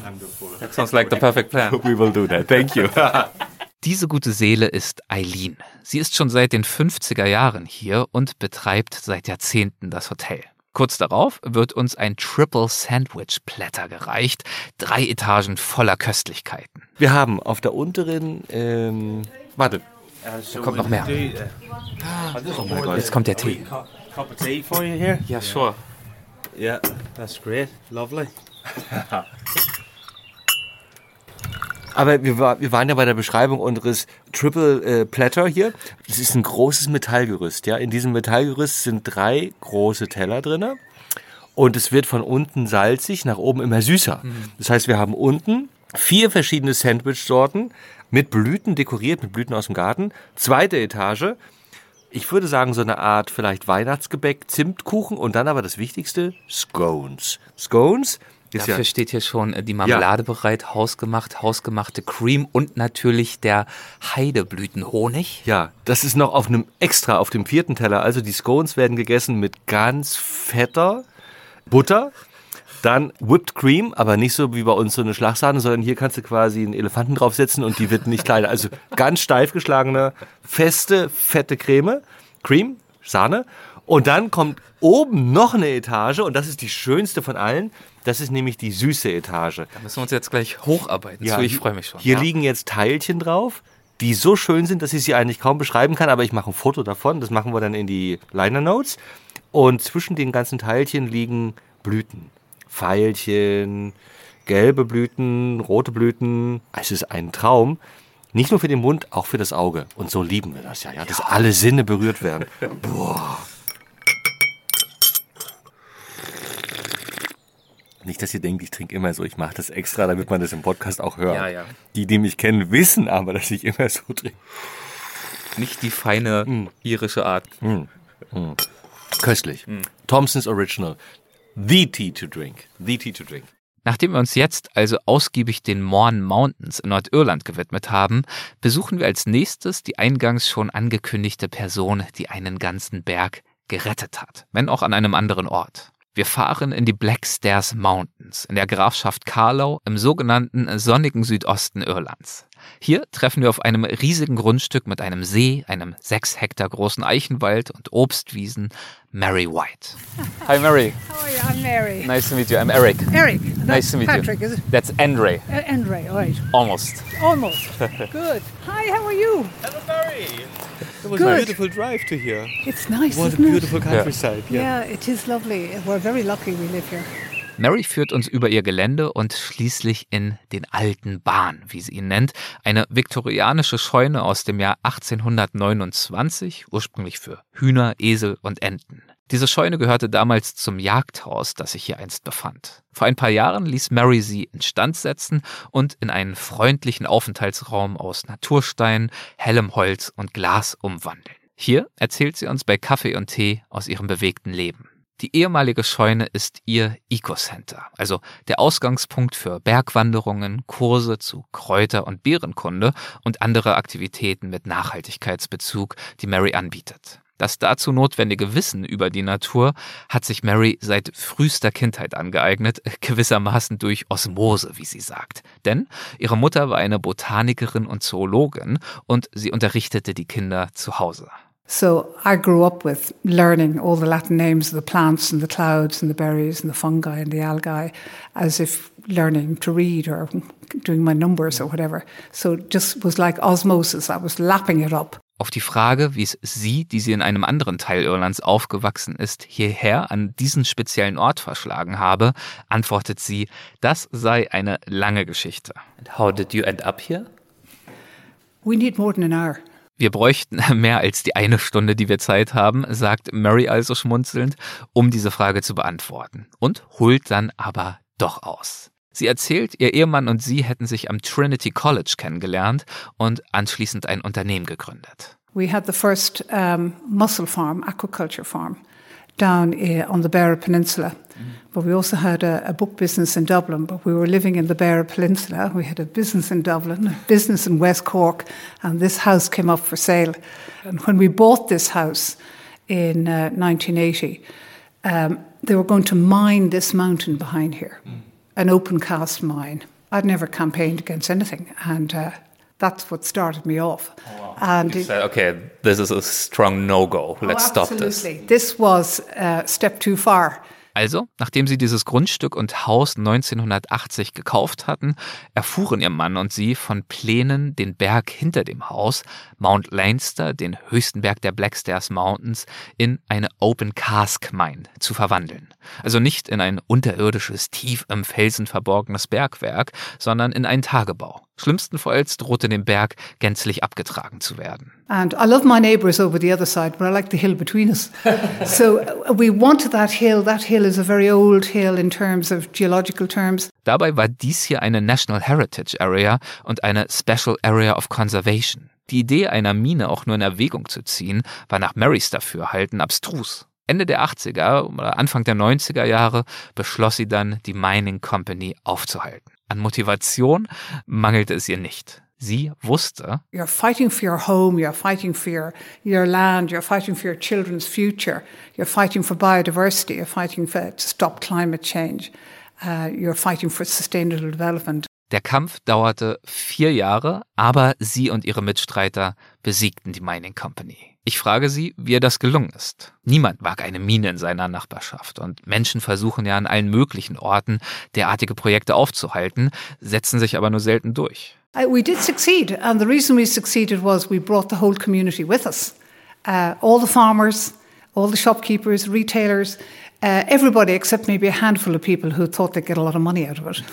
That sounds like the perfect plan. We will do that. Thank you. Diese gute Seele ist Eileen. Sie ist schon seit den fünfziger Jahren hier und betreibt seit Jahrzehnten das Hotel. Kurz darauf wird uns ein Triple Sandwich Platter gereicht, drei Etagen voller Köstlichkeiten. Wir haben auf der unteren, ähm, warte. Da kommt noch mehr. Oh mein Gott, jetzt kommt der Tee. Cup of tea for you here. Yeah, sure. Yeah, that's great. Lovely. Aber wir, war, wir waren ja bei der Beschreibung unseres Triple äh, Platter hier. Das ist ein großes Metallgerüst. Ja? In diesem Metallgerüst sind drei große Teller drin. Und es wird von unten salzig, nach oben immer süßer. Mhm. Das heißt, wir haben unten vier verschiedene Sandwich-Sorten mit Blüten dekoriert, mit Blüten aus dem Garten. Zweite Etage. Ich würde sagen, so eine Art vielleicht Weihnachtsgebäck, Zimtkuchen und dann aber das Wichtigste, Scones. Scones ist Dafür ja, steht hier schon die Marmelade ja. bereit, hausgemacht, hausgemachte Cream und natürlich der Heideblütenhonig. Ja, das ist noch auf einem extra, auf dem vierten Teller. Also die Scones werden gegessen mit ganz fetter Butter. Dann Whipped Cream, aber nicht so wie bei uns so eine Schlagsahne, sondern hier kannst du quasi einen Elefanten draufsetzen und die wird nicht kleiner. Also ganz steif geschlagene, feste, fette Creme, Cream, Sahne. Und dann kommt oben noch eine Etage und das ist die schönste von allen. Das ist nämlich die süße Etage. Da müssen wir uns jetzt gleich hocharbeiten. Ja, so, ich freue mich schon. Hier ja. liegen jetzt Teilchen drauf, die so schön sind, dass ich sie eigentlich kaum beschreiben kann, aber ich mache ein Foto davon. Das machen wir dann in die Liner Notes. Und zwischen den ganzen Teilchen liegen Blüten. Veilchen, gelbe Blüten, rote Blüten. Es ist ein Traum. Nicht nur für den Mund, auch für das Auge. Und so lieben wir das ja, ja, dass ja. alle Sinne berührt werden. Boah. Nicht, dass ihr denkt, ich trinke immer so. Ich mache das extra, damit man das im Podcast auch hört. Ja, ja. Die, die mich kennen, wissen aber, dass ich immer so trinke. Nicht die feine mm. irische Art. Mm. Mm. Köstlich. Mm. Thompson's Original. The tea to drink. The tea to drink. Nachdem wir uns jetzt also ausgiebig den Mourne Mountains in Nordirland gewidmet haben, besuchen wir als nächstes die eingangs schon angekündigte Person, die einen ganzen Berg gerettet hat, wenn auch an einem anderen Ort. Wir fahren in die Blackstairs Mountains in der Grafschaft Carlow im sogenannten sonnigen Südosten Irlands. Hier treffen wir auf einem riesigen Grundstück mit einem See, einem sechs Hektar großen Eichenwald und Obstwiesen Mary White. Hi Mary. How are you? I'm Mary. Nice to meet you. I'm Eric. Eric. Nice to meet Patrick, you. Is it? That's Andre. Uh, Andre, all right. Almost. Almost. Good. Hi, how are you? Hello Mary. It was Good. a beautiful drive to here. It's nice, What a isn't beautiful it? countryside. Yeah. yeah, it is lovely. We're very lucky we live here. Mary führt uns über ihr Gelände und schließlich in den alten Barn, wie sie ihn nennt, eine viktorianische Scheune aus dem Jahr achtzehnhundertneunundzwanzig, ursprünglich für Hühner, Esel und Enten. Diese Scheune gehörte damals zum Jagdhaus, das sich hier einst befand. Vor ein paar Jahren ließ Mary sie instand setzen und in einen freundlichen Aufenthaltsraum aus Naturstein, hellem Holz und Glas umwandeln. Hier erzählt sie uns bei Kaffee und Tee aus ihrem bewegten Leben. Die ehemalige Scheune ist ihr Eco-Center, also der Ausgangspunkt für Bergwanderungen, Kurse zu Kräuter- und Beerenkunde und andere Aktivitäten mit Nachhaltigkeitsbezug, die Mary anbietet. Das dazu notwendige Wissen über die Natur hat sich Mary seit frühester Kindheit angeeignet, gewissermaßen durch Osmose, wie sie sagt. Denn ihre Mutter war eine Botanikerin und Zoologin und sie unterrichtete die Kinder zu Hause. So I grew up with learning all the Latin names of the plants and the clouds and the berries and the fungi and the algae as if learning to read or doing my numbers or whatever. So it just was like osmosis. I was lapping it up. Auf die Frage, wie es sie, die sie in einem anderen Teil Irlands aufgewachsen ist, hierher an diesen speziellen Ort verschlagen habe, antwortet sie, das sei eine lange Geschichte. And how did you end up here? We need more than an hour. Wir bräuchten mehr als die eine Stunde, die wir Zeit haben, sagt Mary also schmunzelnd, um diese Frage zu beantworten und holt dann aber doch aus. Sie erzählt, ihr Ehemann und sie hätten sich am Trinity College kennengelernt und anschließend ein Unternehmen gegründet. We had the first um, mussel farm, aquaculture farm, down uh, on the Beara Peninsula. Mm. But we also had a, a book business in Dublin, but we were living in the Beara Peninsula. We had a business in Dublin, a business in West Cork, and this house came up for sale. And when we bought this house in uh, nineteen eighty, um, they were going to mine this mountain behind here, mm. an open cast mine. I'd never campaigned against anything, and uh, that's what started me off. Oh, wow. And you said, okay, this is a strong no-go. Let's oh, stop this. Absolutely. This was a step too far Also, nachdem sie dieses Grundstück und Haus neunzehnhundertachtzig gekauft hatten, erfuhren ihr Mann und sie von Plänen, den Berg hinter dem Haus, Mount Leinster, den höchsten Berg der Blackstairs Mountains, in eine Open Cask Mine zu verwandeln. Also nicht in ein unterirdisches, tief im Felsen verborgenes Bergwerk, sondern in einen Tagebau. Schlimmstenfalls drohte dem Berg gänzlich abgetragen zu werden. And I love my neighbours over the other side, but I like the hill between us. So we wanted that hill. That hill is a very old hill in terms of geological terms. Dabei war dies hier eine National Heritage Area und eine Special Area of Conservation. Die Idee einer Mine auch nur in Erwägung zu ziehen, war nach Marys Dafürhalten abstrus. Ende der achtziger oder Anfang der neunziger Jahre beschloss sie dann, die Mining Company aufzuhalten. An Motivation mangelte es ihr nicht. Sie wusste, you're fighting for your home, you're fighting for your, your land, you're fighting for your children's future, you're fighting for biodiversity, you're fighting for, to stop climate change, uh, you're fighting for sustainable development. Der Kampf dauerte vier Jahre, aber sie und ihre Mitstreiter besiegten die Mining Company. Ich frage sie, wie ihr das gelungen ist. Niemand mag eine Mine in seiner Nachbarschaft und Menschen versuchen ja an allen möglichen Orten, derartige Projekte aufzuhalten, setzen sich aber nur selten durch. Uh, we did succeed, and the reason we succeeded was we brought the whole community with us. Uh, all the farmers, all the shopkeepers, retailers, uh, everybody except maybe a handful of people who thought they'd get a lot of money out of it.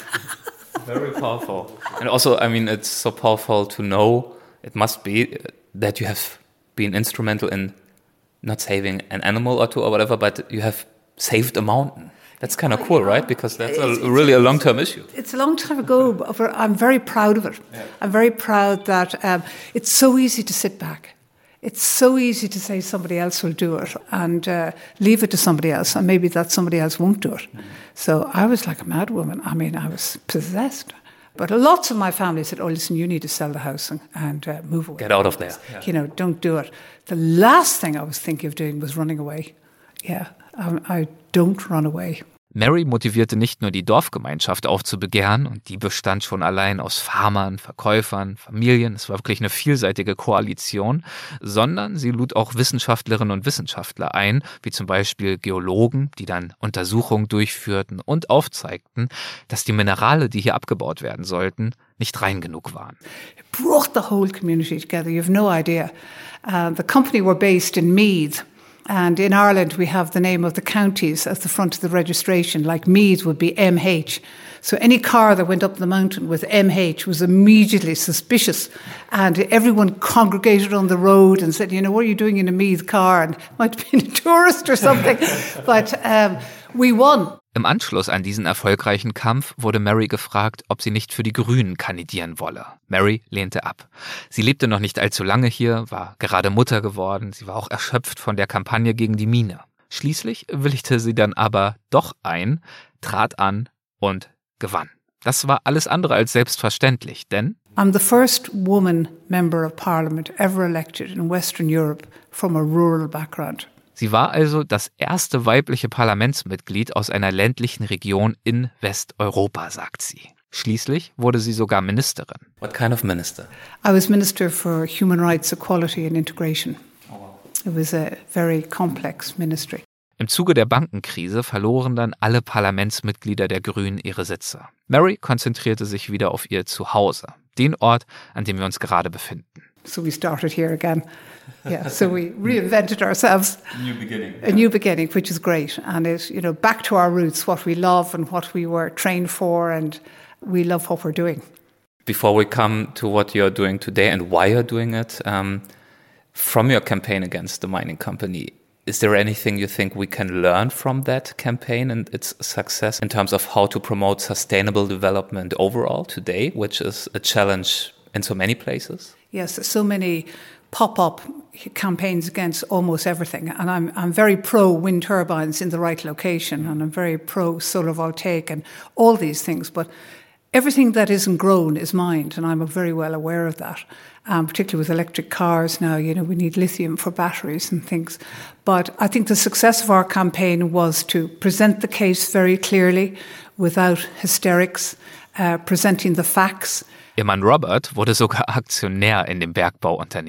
Very powerful. And also, I mean, it's so powerful to know, it must be, that you have been instrumental in not saving an animal or two or whatever, but you have saved a mountain. That's kind of cool, right? Because that's a, really a long-term issue. It's a long time ago, but I'm very proud of it. Yeah. I'm very proud that um, it's so easy to sit back. It's so easy to say somebody else will do it and uh, leave it to somebody else, and maybe that somebody else won't do it. Mm-hmm. So I was like a mad woman. I mean, I was possessed. But lots of my family said, oh, listen, you need to sell the house and, and uh, move away. Get out of there. Yeah. You know, don't do it. The last thing I was thinking of doing was running away. Yeah, I, I don't run away. Mary motivierte nicht nur die Dorfgemeinschaft aufzubegehren, und die bestand schon allein aus Farmern, Verkäufern, Familien, es war wirklich eine vielseitige Koalition, sondern sie lud auch Wissenschaftlerinnen und Wissenschaftler ein, wie zum Beispiel Geologen, die dann Untersuchungen durchführten und aufzeigten, dass die Minerale, die hier abgebaut werden sollten, nicht rein genug waren. It brought the whole community together, you have no idea. Uh, the company were based in Meath. And in Ireland, we have the name of the counties at the front of the registration, like Meath would be M H. So any car that went up the mountain with M H was immediately suspicious. And everyone congregated on the road and said, you know, what are you doing in a Meath car? And it might have been a tourist or something. But um, we won. Im Anschluss an diesen erfolgreichen Kampf wurde Mary gefragt, ob sie nicht für die Grünen kandidieren wolle. Mary lehnte ab. Sie lebte noch nicht allzu lange hier, war gerade Mutter geworden, sie war auch erschöpft von der Kampagne gegen die Mine. Schließlich willigte sie dann aber doch ein, trat an und gewann. Das war alles andere als selbstverständlich, denn I'm the first woman member of parliament ever elected in Western Europe from a rural background. Sie war also das erste weibliche Parlamentsmitglied aus einer ländlichen Region in Westeuropa, sagt sie. Schließlich wurde sie sogar Ministerin. What kind of minister? I was Minister for Human Rights, Equality and Integration. Oh, wow. It was a very complex ministry. Im Zuge der Bankenkrise verloren dann alle Parlamentsmitglieder der Grünen ihre Sitze. Mary konzentrierte sich wieder auf ihr Zuhause, den Ort, an dem wir uns gerade befinden. So we started here again. Yeah, so we reinvented ourselves. A new beginning. A new beginning, which is great. And it's, you know, back to our roots, what we love and what we were trained for, and we love what we're doing. Before we come to what you're doing today and why you're doing it, um, from your campaign against the mining company, is there anything you think we can learn from that campaign and its success in terms of how to promote sustainable development overall today, which is a challenge in so many places? Yes, so many pop-up campaigns against almost everything. And I'm I'm very pro wind turbines in the right location, and I'm very pro solar voltaic and all these things. But everything that isn't grown is mined, and I'm very well aware of that. Um, particularly with electric cars now, you know, we need lithium for batteries and things. But I think the success of our campaign was to present the case very clearly, without hysterics, uh, presenting the facts. Ihr Mann Robert wurde sogar Aktionär in dem Bergbauunternehmen.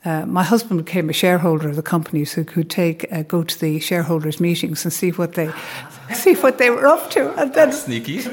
Uh, my husband became a shareholder of the company, so he could take uh, go to the shareholders' meetings and see what they see what they were up to. And then, sneaky.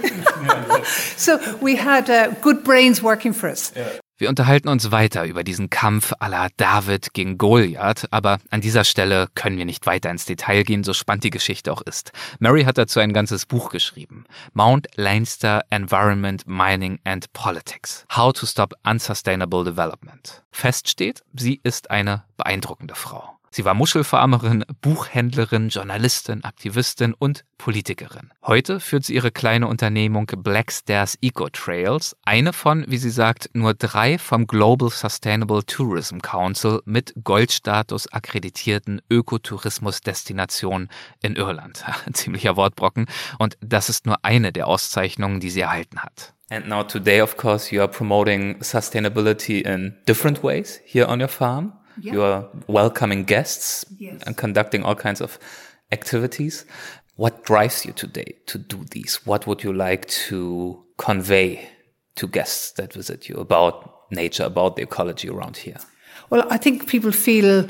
So we had uh, good brains working for us. Yeah. Wir unterhalten uns weiter über diesen Kampf à la David gegen Goliath, aber an dieser Stelle können wir nicht weiter ins Detail gehen, so spannend die Geschichte auch ist. Mary hat dazu ein ganzes Buch geschrieben. Mount Leinster Environment, Mining and Politics. How to Stop Unsustainable Development. Fest steht, sie ist eine beeindruckende Frau. Sie war Muschelfarmerin, Buchhändlerin, Journalistin, Aktivistin und Politikerin. Heute führt sie ihre kleine Unternehmung Black Stairs Eco Trails, eine von, wie sie sagt, nur drei vom Global Sustainable Tourism Council mit Goldstatus akkreditierten Ökotourismusdestinationen in Irland. Ein ziemlicher Wortbrocken. Und das ist nur eine der Auszeichnungen, die sie erhalten hat. And now today, of course, you are promoting sustainability in different ways here on your farm. Yeah. You are welcoming guests yes. and conducting all kinds of activities. What drives you today to do these? What would you like to convey to guests that visit you about nature, about the ecology around here? Well, I think people feel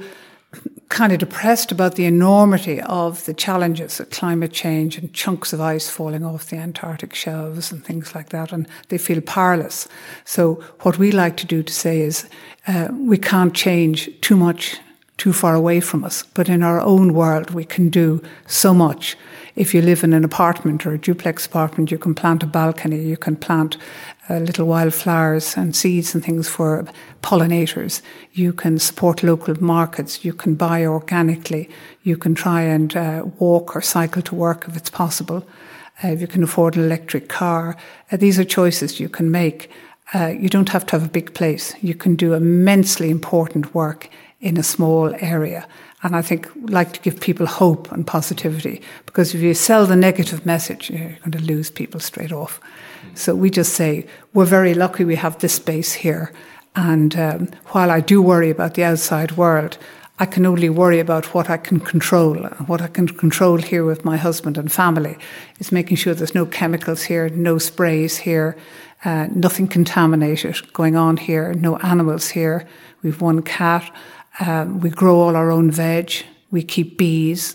kind of depressed about the enormity of the challenges of climate change and chunks of ice falling off the Antarctic shelves and things like that, and they feel powerless. So what we like to do to say is uh, we can't change too much too far away from us, but in our own world we can do so much. If you live in an apartment or a duplex apartment, you can plant a balcony, you can plant uh, little wildflowers and seeds and things for pollinators. You can support local markets. You can buy organically. You can try and uh, walk or cycle to work if it's possible. Uh, if you can afford an electric car. Uh, these are choices you can make. Uh, you don't have to have a big place. You can do immensely important work in a small area. And I think we like to give people hope and positivity, because if you sell the negative message, you're going to lose people straight off. So we just say, we're very lucky we have this space here. And um, while I do worry about the outside world, I can only worry about what I can control. What I can control here with my husband and family is making sure there's no chemicals here, no sprays here, uh, nothing contaminated going on here, no animals here. We've one cat. Um, we grow all our own veg. We keep bees.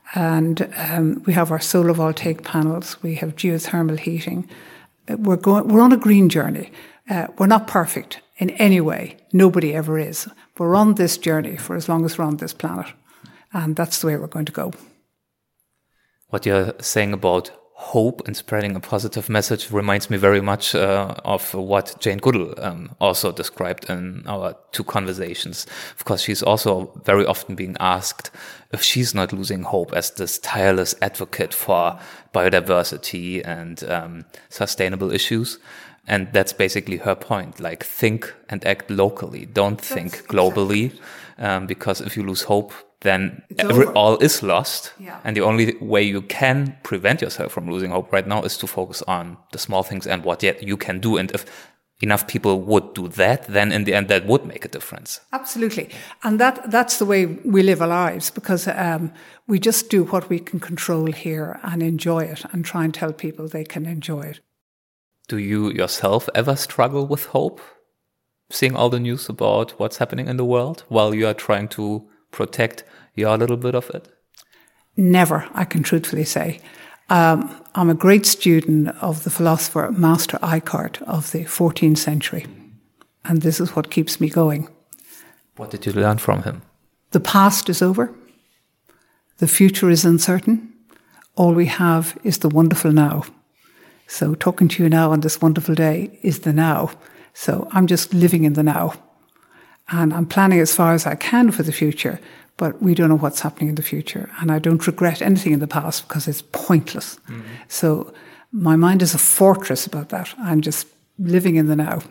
And um, we have our solar voltaic panels. We have geothermal heating. We're going. We're on a green journey. Uh, we're not perfect in any way. Nobody ever is. We're on this journey for as long as we're on this planet. And that's the way we're going to go. What you're saying about hope and spreading a positive message reminds me very much uh, of what Jane Goodall um, also described in our two conversations. Of course, she's also very often being asked if she's not losing hope as this tireless advocate for biodiversity and um, sustainable issues. And that's basically her point. Like, think and act locally. Don't think that's globally. Exactly. Um, because if you lose hope, then every, all is lost. Yeah. And the only way you can prevent yourself from losing hope right now is to focus on the small things and what yet you can do. And if enough people would do that, then in the end, that would make a difference. Absolutely. And that that's the way we live our lives, because um, we just do what we can control here and enjoy it and try and tell people they can enjoy it. Do you yourself ever struggle with hope, seeing all the news about what's happening in the world while you are trying to protect your little bit of it? Never, I can truthfully say. Um, I'm a great student of the philosopher Master Eckhart of the fourteenth century. And this is what keeps me going. What did you learn from him? The past is over. The future is uncertain. All we have is the wonderful now. So talking to you now on this wonderful day is the now. So I'm just living in the now. And I'm planning as far as I can for the future, but we don't know what's happening in the future. And I don't regret anything in the past because it's pointless. Mm-hmm. So my mind is a fortress about that. I'm just living in the now.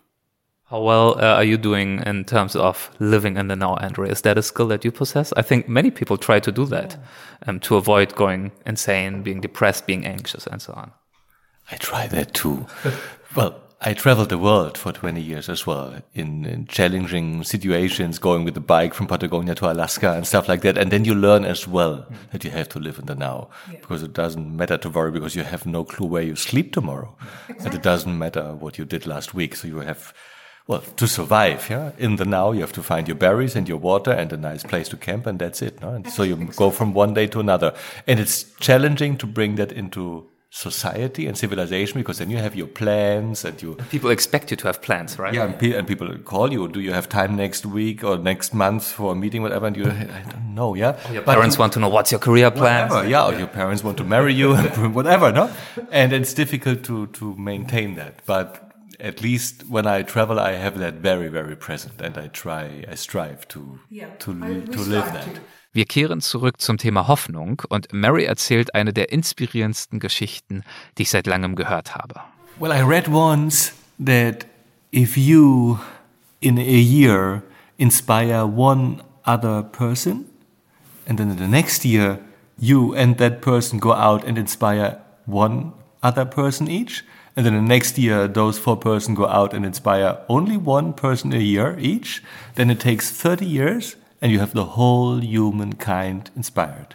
How well uh, are you doing in terms of living in the now, Andrea? Is that a skill that you possess? I think many people try to do that um, to avoid going insane, being depressed, being anxious, and so on. I try that too. Well, I traveled the world for twenty years as well, in, in challenging situations, going with the bike from Patagonia to Alaska and stuff like that. And then you learn as well mm. that you have to live in the now, yeah. because it doesn't matter to worry because you have no clue where you sleep tomorrow. Exactly. And it doesn't matter what you did last week. So you have, well, to survive, yeah. In the now, you have to find your berries and your water and a nice place to camp, and that's it. No? And so you go from one day to another, and it's challenging to bring that into society and civilization, because then you have your plans and you... People expect you to have plans, right? Yeah, and, pe- and people call you, do you have time next week or next month for a meeting, whatever, and you, I don't know, yeah? Or your parents but, want to know what's your career plan. Whatever, yeah, or your parents want to marry you, whatever, no? And it's difficult to, to maintain that, but at least when I travel, I have that very, very present, and I try, I strive to, yeah, to, I, to live that. To. Wir kehren zurück zum Thema Hoffnung und Mary erzählt eine der inspirierendsten Geschichten, die ich seit langem gehört habe. Well, I read once that if you, in a year, inspire one other person, and then in the next year, you and that person go out and inspire one other person each, and then the next year, those four persons go out and inspire only one person a year each, then it takes thirty years, and you have the whole humankind inspired.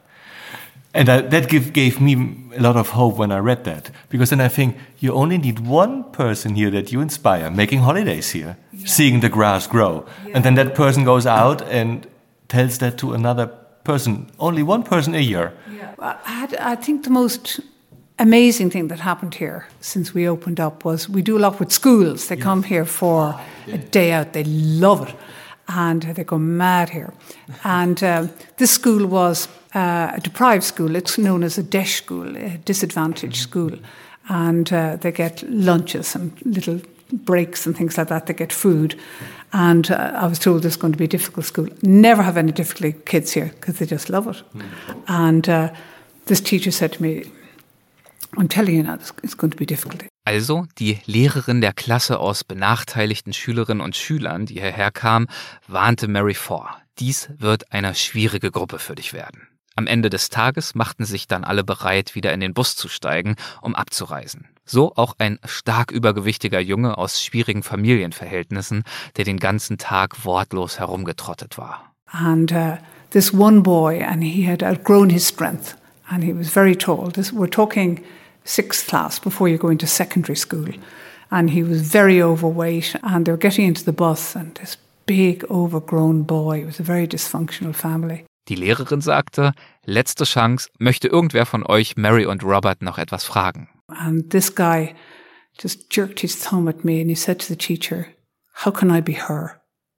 And I, that give, gave me a lot of hope when I read that. Because then I think, you only need one person here that you inspire, making holidays here, yeah. seeing the grass grow. Yeah. And then that person goes out and tells that to another person. Only one person a year. Yeah. I, had, I think the most amazing thing that happened here since we opened up was we do a lot with schools. They yes. come here for a day out. They love it. And they go mad here. And uh, this school was uh, a deprived school. It's known as a D E S H school, a disadvantaged school. And uh, they get lunches and little breaks and things like that. They get food. And uh, I was told this is going to be a difficult school. Never have any difficult kids here because they just love it. Mm. And uh, this teacher said to me, I'm telling you now, it's going to be difficult. Also die Lehrerin der Klasse aus benachteiligten Schülerinnen und Schülern, die hierher kam, warnte Mary vor. Dies wird eine schwierige Gruppe für dich werden. Am Ende des Tages machten sich dann alle bereit, wieder in den Bus zu steigen, um abzureisen. So auch ein stark übergewichtiger Junge aus schwierigen Familienverhältnissen, der den ganzen Tag wortlos herumgetrottet war. And uh, this one boy, and he had outgrown his strength, and he was very tall. This, we're talking sixth class before you go into secondary school. And he was very overweight, and they were getting into the bus, and this big overgrown boy, it was a very dysfunctional family. Die Lehrerin sagte, letzte Chance, möchte irgendwer von euch Mary und Robert noch etwas fragen? And this guy just jerked his thumb at me and he said to the teacher, how can I be her?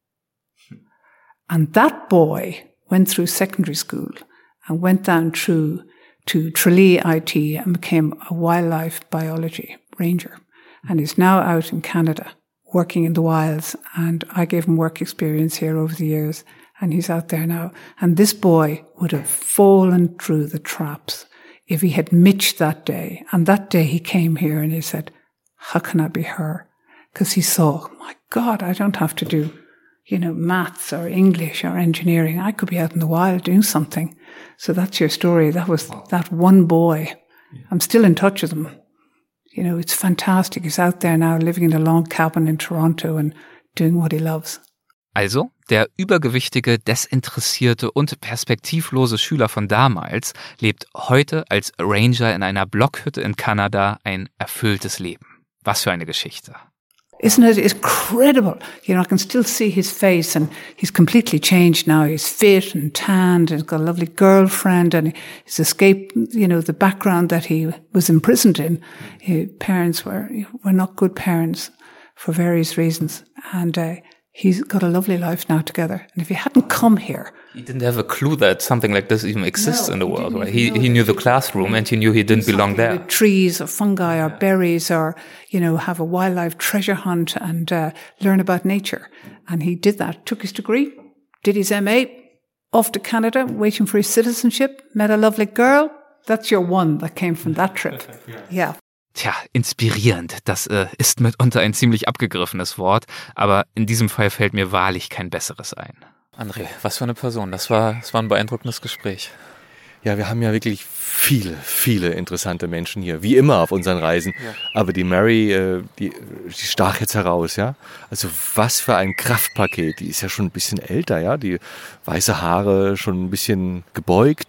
And that boy went through secondary school and went down through to Tralee I T and became a wildlife biology ranger and is now out in Canada working in the wilds. And I gave him work experience here over the years and he's out there now. And this boy would have fallen through the traps if he had Mitch that day. And that day he came here and he said, how can I be her? Because he saw, my God, I don't have to do, you know, maths or English or engineering. I could be out in the wild doing something. So that's your story. That was that one boy. I'm still in touch with him. You know, it's fantastic. He's out there now living in a log cabin in Toronto and doing what he loves. Also, der übergewichtige, desinteressierte und perspektivlose Schüler von damals lebt heute als Ranger in einer Blockhütte in Kanada ein erfülltes Leben. Was für eine Geschichte. Isn't it incredible? You know, I can still see his face and he's completely changed now. He's fit and tanned and he's got a lovely girlfriend and he's escaped, you know, the background that he was imprisoned in. His parents were, were not good parents for various reasons. And uh, he's got a lovely life now together. And if he hadn't come here... He didn't have a clue that something like this even exists no, in the world, right? He he knew the classroom and he knew he didn't belong there. With trees or fungi or berries or, you know, have a wildlife treasure hunt and uh, learn about nature. And he did that, took his degree, did his M A, off to Canada, waiting for his citizenship, met a lovely girl. That's your one that came from that trip. Yeah. Tja, inspirierend, das äh, ist mitunter ein ziemlich abgegriffenes Wort, aber in diesem Fall fällt mir wahrlich kein besseres ein. André, was für eine Person. Das war, das war ein beeindruckendes Gespräch. Ja, wir haben ja wirklich viele, viele interessante Menschen hier, wie immer auf unseren Reisen. Ja. Aber die Mary, äh, die, die stach jetzt heraus, ja. Also was für ein Kraftpaket. Die ist ja schon ein bisschen älter, ja. Die weiße Haare schon ein bisschen gebeugt, ja.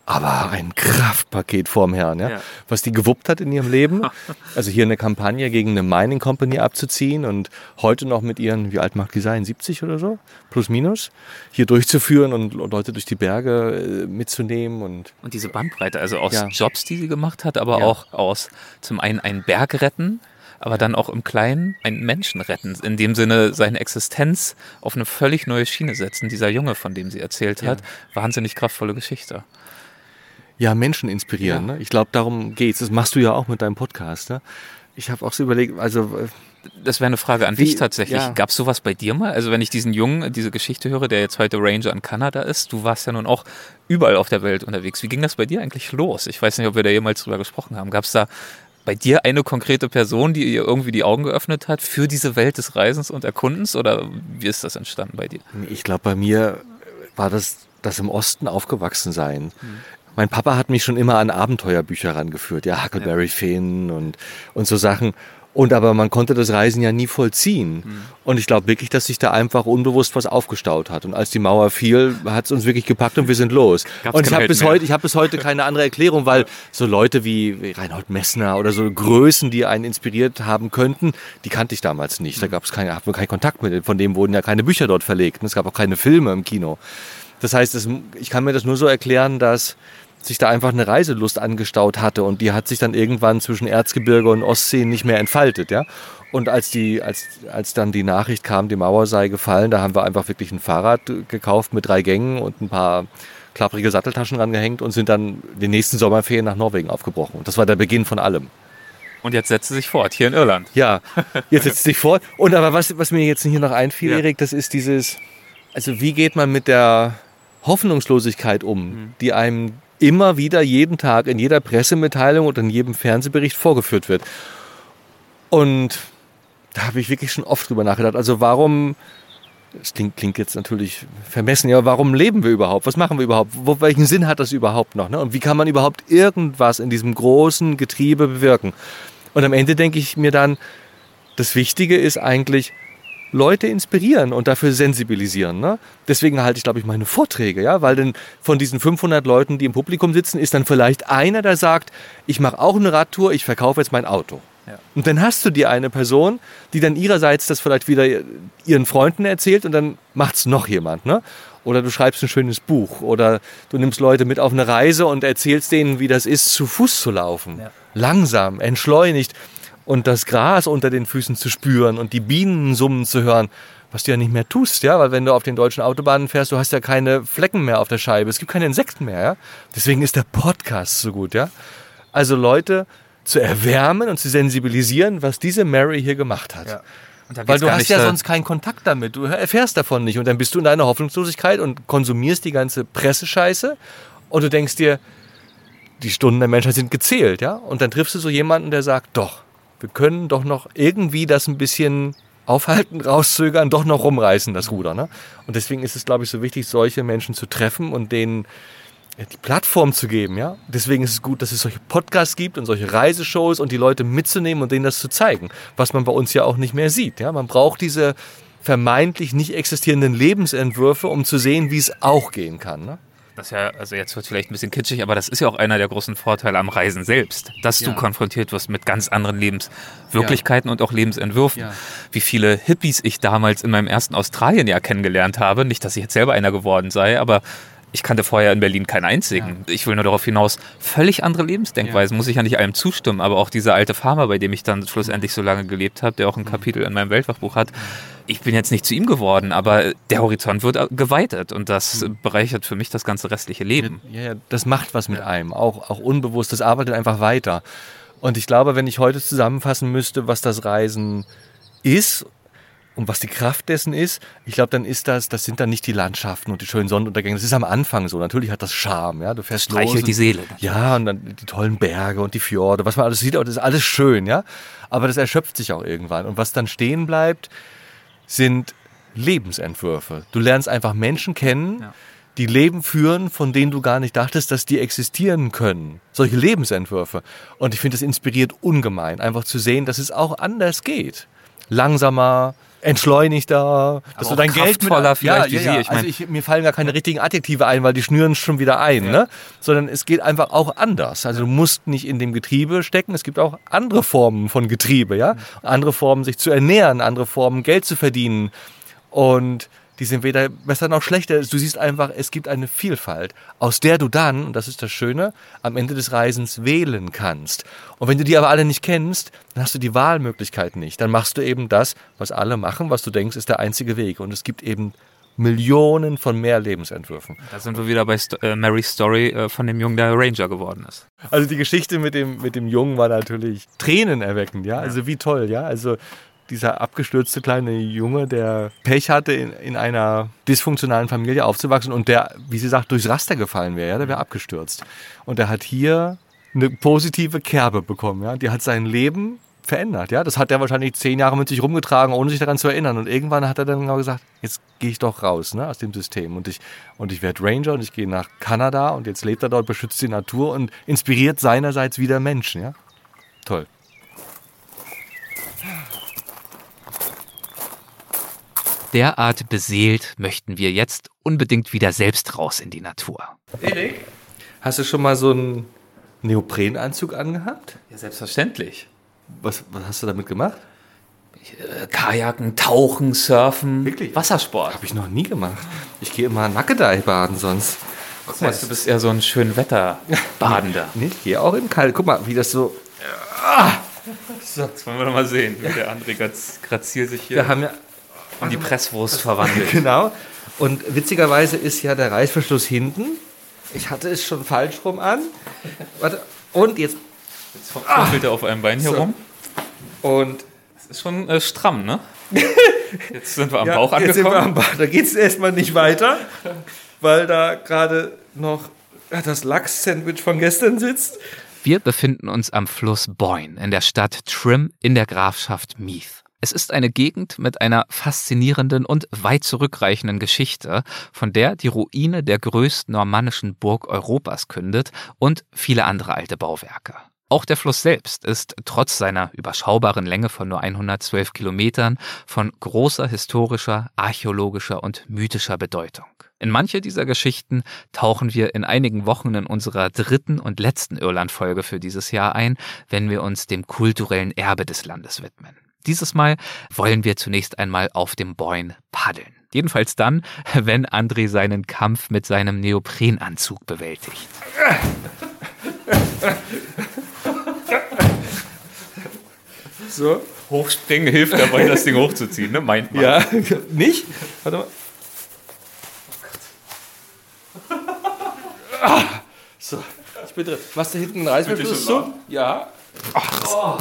aber ein Kraftpaket vorm Herrn, ja? Ja. Was die gewuppt hat in ihrem Leben. Also hier eine Kampagne gegen eine Mining Company abzuziehen und heute noch mit ihren, wie alt mag die sein, siebzig oder so, plus minus, hier durchzuführen und Leute durch die Berge äh, mitzunehmen. Und, und diese Bandbreite, also aus ja. Jobs, die sie gemacht hat, aber Ja. auch aus zum einen einen Berg retten, aber dann auch im Kleinen einen Menschen retten. In dem Sinne seine Existenz auf eine völlig neue Schiene setzen. Dieser Junge, von dem sie erzählt hat, wahnsinnig kraftvolle Geschichte. Ja, Menschen inspirieren. Ja. Ne? Ich glaube, darum geht's. Das machst du ja auch mit deinem Podcast. Ne? Ich habe auch so überlegt, also... Das wäre eine Frage an Wie- dich tatsächlich. ja. Gab es sowas bei dir mal? Also wenn ich diesen Jungen, diese Geschichte höre, der jetzt heute Ranger in Kanada ist, du warst ja nun auch überall auf der Welt unterwegs. Wie ging das bei dir eigentlich los? Ich weiß nicht, ob wir da jemals drüber gesprochen haben. Gab es da bei dir eine konkrete Person, die ihr irgendwie die Augen geöffnet hat für diese Welt des Reisens und Erkundens? Oder wie ist das entstanden bei dir? Ich glaube, bei mir war das das im Osten aufgewachsen sein. Mein Papa hat mich schon immer an Abenteuerbücher rangeführt, ja, Huckleberry Finn und, und so Sachen. Und aber man konnte das Reisen ja nie vollziehen. Und ich glaube wirklich, dass sich da einfach unbewusst was aufgestaut hat. Und als die Mauer fiel, hat es uns wirklich gepackt und wir sind los. Gab's und ich kein habe Halt bis mehr. heute, ich habe bis heute keine andere Erklärung, weil so Leute wie wie Reinhold Messner oder so Größen, die einen inspiriert haben könnten, die kannte ich damals nicht. Da gab es keine, hatten wir keinen Kontakt mit. Von dem wurden ja keine Bücher dort verlegt. Und es gab auch keine Filme im Kino. Das heißt, es, ich kann mir das nur so erklären, dass sich da einfach eine Reiselust angestaut hatte und die hat sich dann irgendwann zwischen Erzgebirge und Ostsee nicht mehr entfaltet, ja. Und als die, als, als dann die Nachricht kam, die Mauer sei gefallen, da haben wir einfach wirklich ein Fahrrad gekauft mit drei Gängen und ein paar klapprige Satteltaschen rangehängt und sind dann den nächsten Sommerferien nach Norwegen aufgebrochen. Und das war der Beginn von allem. Und jetzt setzt sie sich fort, hier in Irland. Ja, jetzt setzt sich fort. Und aber was, was mir jetzt hier noch einfiel, Ja. Erik, das ist dieses, also wie geht man mit der Hoffnungslosigkeit um, Mhm. die einem immer wieder jeden Tag in jeder Pressemitteilung und in jedem Fernsehbericht vorgeführt wird. Und da habe ich wirklich schon oft drüber nachgedacht. Also warum, das klingt, klingt jetzt natürlich vermessen, ja, warum leben wir überhaupt? Was machen wir überhaupt? Wo, welchen Sinn hat das überhaupt noch? Ne? Und wie kann man überhaupt irgendwas in diesem großen Getriebe bewirken? Und am Ende denke ich mir dann, das Wichtige ist eigentlich, Leute inspirieren und dafür sensibilisieren. Ne? Deswegen halte ich, glaube ich, meine Vorträge, ja, weil denn von diesen fünfhundert Leuten, die im Publikum sitzen, ist dann vielleicht einer, der sagt, ich mache auch eine Radtour, ich verkaufe jetzt mein Auto. Ja. Und dann hast du dir eine Person, die dann ihrerseits das vielleicht wieder ihren Freunden erzählt und dann macht's noch jemand. Ne? Oder du schreibst ein schönes Buch oder du nimmst Leute mit auf eine Reise und erzählst denen, wie das ist, zu Fuß zu laufen. Ja. Langsam, entschleunigt. Und das Gras unter den Füßen zu spüren und die Bienen summen zu hören, was du ja nicht mehr tust, ja, weil wenn du auf den deutschen Autobahnen fährst, du hast ja keine Flecken mehr auf der Scheibe, es gibt keine Insekten mehr, ja. Deswegen ist der Podcast so gut, ja. Also Leute zu erwärmen und zu sensibilisieren, was diese Mary hier gemacht hat. Ja. Und da Weil geht's du gar hast nicht, ja äh, sonst keinen Kontakt damit, du erfährst davon nicht und dann bist du in deiner Hoffnungslosigkeit und konsumierst die ganze Pressescheiße und du denkst dir, die Stunden der Menschheit sind gezählt, ja. Und dann triffst du so jemanden, der sagt, doch, wir können doch noch irgendwie das ein bisschen aufhalten, rauszögern, doch noch rumreißen, das Ruder. Ne? Und deswegen ist es, glaube ich, so wichtig, solche Menschen zu treffen und denen die Plattform zu geben. Ja? Deswegen ist es gut, dass es solche Podcasts gibt und solche Reiseshows und die Leute mitzunehmen und denen das zu zeigen, was man bei uns ja auch nicht mehr sieht. Ja? Man braucht diese vermeintlich nicht existierenden Lebensentwürfe, um zu sehen, wie es auch gehen kann. Ne? Das ist ja, also jetzt wird es vielleicht ein bisschen kitschig, aber das ist ja auch einer der großen Vorteile am Reisen selbst, dass Ja. du konfrontiert wirst mit ganz anderen Lebenswirklichkeiten und auch Lebensentwürfen. Ja. Wie viele Hippies ich damals in meinem ersten Australienjahr kennengelernt habe. Nicht, dass ich jetzt selber einer geworden sei, aber ich kannte vorher in Berlin keinen einzigen. Ich will nur darauf hinaus, völlig andere Lebensdenkweisen, muss ich ja nicht allem zustimmen, aber auch dieser alte Farmer, bei dem ich dann schlussendlich so lange gelebt habe, der auch ein Kapitel in meinem Weltwachbuch hat. Ich bin jetzt nicht zu ihm geworden, aber der Horizont wird geweitet und das bereichert für mich das ganze restliche Leben. Ja, ja, das macht was mit einem, auch, auch unbewusst, das arbeitet einfach weiter. Und ich glaube, wenn ich heute zusammenfassen müsste, was das Reisen ist und was die Kraft dessen ist, ich glaube, dann ist das, das sind dann nicht die Landschaften und die schönen Sonnenuntergänge, das ist am Anfang so, natürlich hat das Charme, ja, du fährst los. Streichelt und, die Seele. Ja, und dann die tollen Berge und die Fjorde, was man alles sieht, das ist alles schön, ja, aber das erschöpft sich auch irgendwann und was dann stehen bleibt, sind Lebensentwürfe. Du lernst einfach Menschen kennen, Ja. die Leben führen, von denen du gar nicht dachtest, dass die existieren können. Solche Lebensentwürfe. Und ich finde, das inspiriert ungemein, einfach zu sehen, dass es auch anders geht. Langsamer, entschleunigter, dass du dein Geld mit, kraftvoller vielleicht ja, wie ja, ja. sie. Ich mein, also ich, mir fallen gar keine richtigen Adjektive ein, weil die schnüren schon wieder ein, ja. ne? Sondern es geht einfach auch anders. Also du musst nicht in dem Getriebe stecken. Es gibt auch andere Formen von Getriebe, ja, andere Formen sich zu ernähren, andere Formen Geld zu verdienen und die sind weder besser noch schlechter. Du siehst einfach, es gibt eine Vielfalt, aus der du dann, und das ist das Schöne, am Ende des Reisens wählen kannst. Und wenn du die aber alle nicht kennst, dann hast du die Wahlmöglichkeit nicht. Dann machst du eben das, was alle machen, was du denkst, ist der einzige Weg. Und es gibt eben Millionen von mehr Lebensentwürfen. Da sind wir wieder bei Sto- äh, Marys Story äh, von dem Jungen, der Ranger geworden ist. Also die Geschichte mit dem, mit dem Jungen war natürlich tränenerweckend, ja. Also wie toll, ja. Also dieser abgestürzte kleine Junge, der Pech hatte, in, in einer dysfunktionalen Familie aufzuwachsen und der, wie sie sagt, durchs Raster gefallen wäre, ja, der wäre abgestürzt. Und der hat hier eine positive Kerbe bekommen, ja. Die hat sein Leben verändert, ja. Das hat er wahrscheinlich zehn Jahre mit sich rumgetragen, ohne sich daran zu erinnern. Und irgendwann hat er dann genau gesagt, jetzt gehe ich doch raus, ne, aus dem System. Und ich, und ich werde Ranger und ich gehe nach Kanada und jetzt lebt er dort, beschützt die Natur und inspiriert seinerseits wieder Menschen, ja. Toll. Derart beseelt möchten wir jetzt unbedingt wieder selbst raus in die Natur. Erik, hast du schon mal so einen Neoprenanzug angehabt? Ja, selbstverständlich. Was, was hast du damit gemacht? Äh, Kajaken, Tauchen, Surfen, Wirklich? Wassersport. Habe ich noch nie gemacht. Ich gehe immer Nackedei baden sonst. Guck mal, du bist eher so ein schön Wetterbadender. Nee, ich gehe auch im Kalt. Guck mal, wie das so... So. Jetzt wollen wir doch mal sehen, wie der André graziert sich hier Wir haben ja in die Presswurst verwandelt. Genau. Und witzigerweise ist ja der Reißverschluss hinten. Ich hatte es schon falsch rum an. Warte. Und jetzt... Jetzt fuchtelt er auf einem Bein hier so. rum. Und... Das ist schon äh, stramm, ne? Jetzt sind wir am ja, Bauch angekommen. Jetzt sind wir am Bauch. Da geht es erstmal nicht weiter, weil da gerade noch das Lachs-Sandwich von gestern sitzt. Wir befinden uns am Fluss Boyne in der Stadt Trim in der Grafschaft Meath. Es ist eine Gegend mit einer faszinierenden und weit zurückreichenden Geschichte, von der die Ruine der größten normannischen Burg Europas kündet und viele andere alte Bauwerke. Auch der Fluss selbst ist trotz seiner überschaubaren Länge von nur hundertzwölf Kilometern von großer historischer, archäologischer und mythischer Bedeutung. In manche dieser Geschichten tauchen wir in einigen Wochen in unserer dritten und letzten Irland-Folge für dieses Jahr ein, wenn wir uns dem kulturellen Erbe des Landes widmen. Dieses Mal wollen wir zunächst einmal auf dem Boyne paddeln. Jedenfalls dann, wenn André seinen Kampf mit seinem Neoprenanzug bewältigt. So. Hochspringen hilft dabei, das Ding hochzuziehen, ne? Meint man. Ja, nicht? Warte mal. Ah, so, ich bin drin. Machst du hinten einen Reißverschluss zu? Ja. Oh.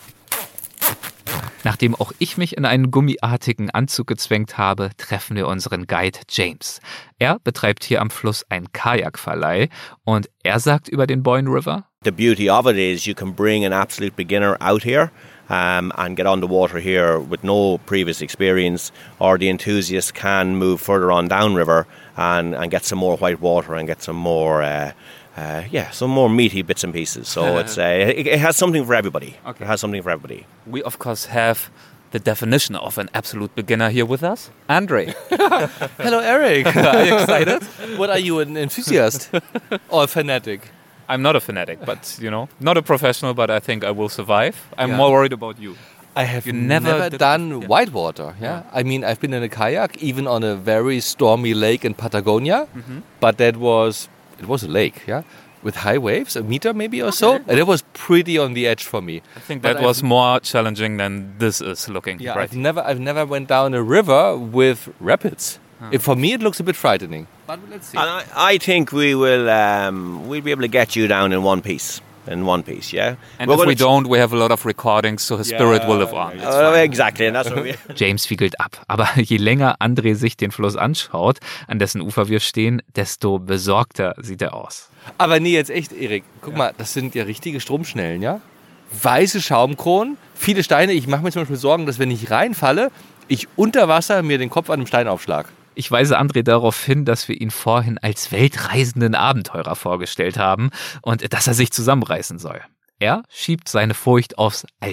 Nachdem auch ich mich in einen gummiartigen Anzug gezwängt habe, treffen wir unseren Guide James. Er betreibt hier am Fluss einen Kajakverleih und er sagt über den Boyne River: The beauty of it is you can bring an absolute beginner out here um, and get on the water here with no previous experience, or the enthusiast can move further on downriver and, and get some more white water and get some more... Uh, Uh, yeah, some more meaty bits and pieces. So it's uh, it, it has something for everybody. Okay. It has something for everybody. We of course have the definition of an absolute beginner here with us, André. Hello, Eric. Are you excited? What are you, an enthusiast or a fanatic? I'm not a fanatic, but you know, not a professional. But I think I will survive. I'm yeah. more worried about you. I have you never, never done yeah. whitewater. Yeah? yeah, I mean I've been in a kayak, even on a very stormy lake in Patagonia, mm-hmm. but that was. It was a lake, yeah, with high waves, a meter maybe or so, and it was pretty on the edge for me. I think that but was I've, more challenging than this is looking. Yeah, right. I've never, I've never went down a river with rapids. Huh. It, for me, it looks a bit frightening. But let's see. And I, I think we will, um, we'll be able to get you down in one piece. In one piece, yeah. And We're if we don't, we have a lot of recordings, so his yeah, spirit will live on. Uh, exactly, and that's what we. James wiegelt ab. Aber je länger André sich den Fluss anschaut, an dessen Ufer wir stehen, desto besorgter sieht er aus. Aber nee, jetzt echt, Erik. Guck ja. mal, das sind ja richtige Stromschnellen, ja? Weiße Schaumkronen, viele Steine. Ich mache mir zum Beispiel Sorgen, dass wenn ich reinfalle, ich unter Wasser mir den Kopf an einem Stein aufschlag. Ich weise André darauf hin, dass wir ihn vorhin als weltreisenden Abenteurer vorgestellt haben und dass er sich zusammenreißen soll. Er schiebt seine Furcht aufs Alter.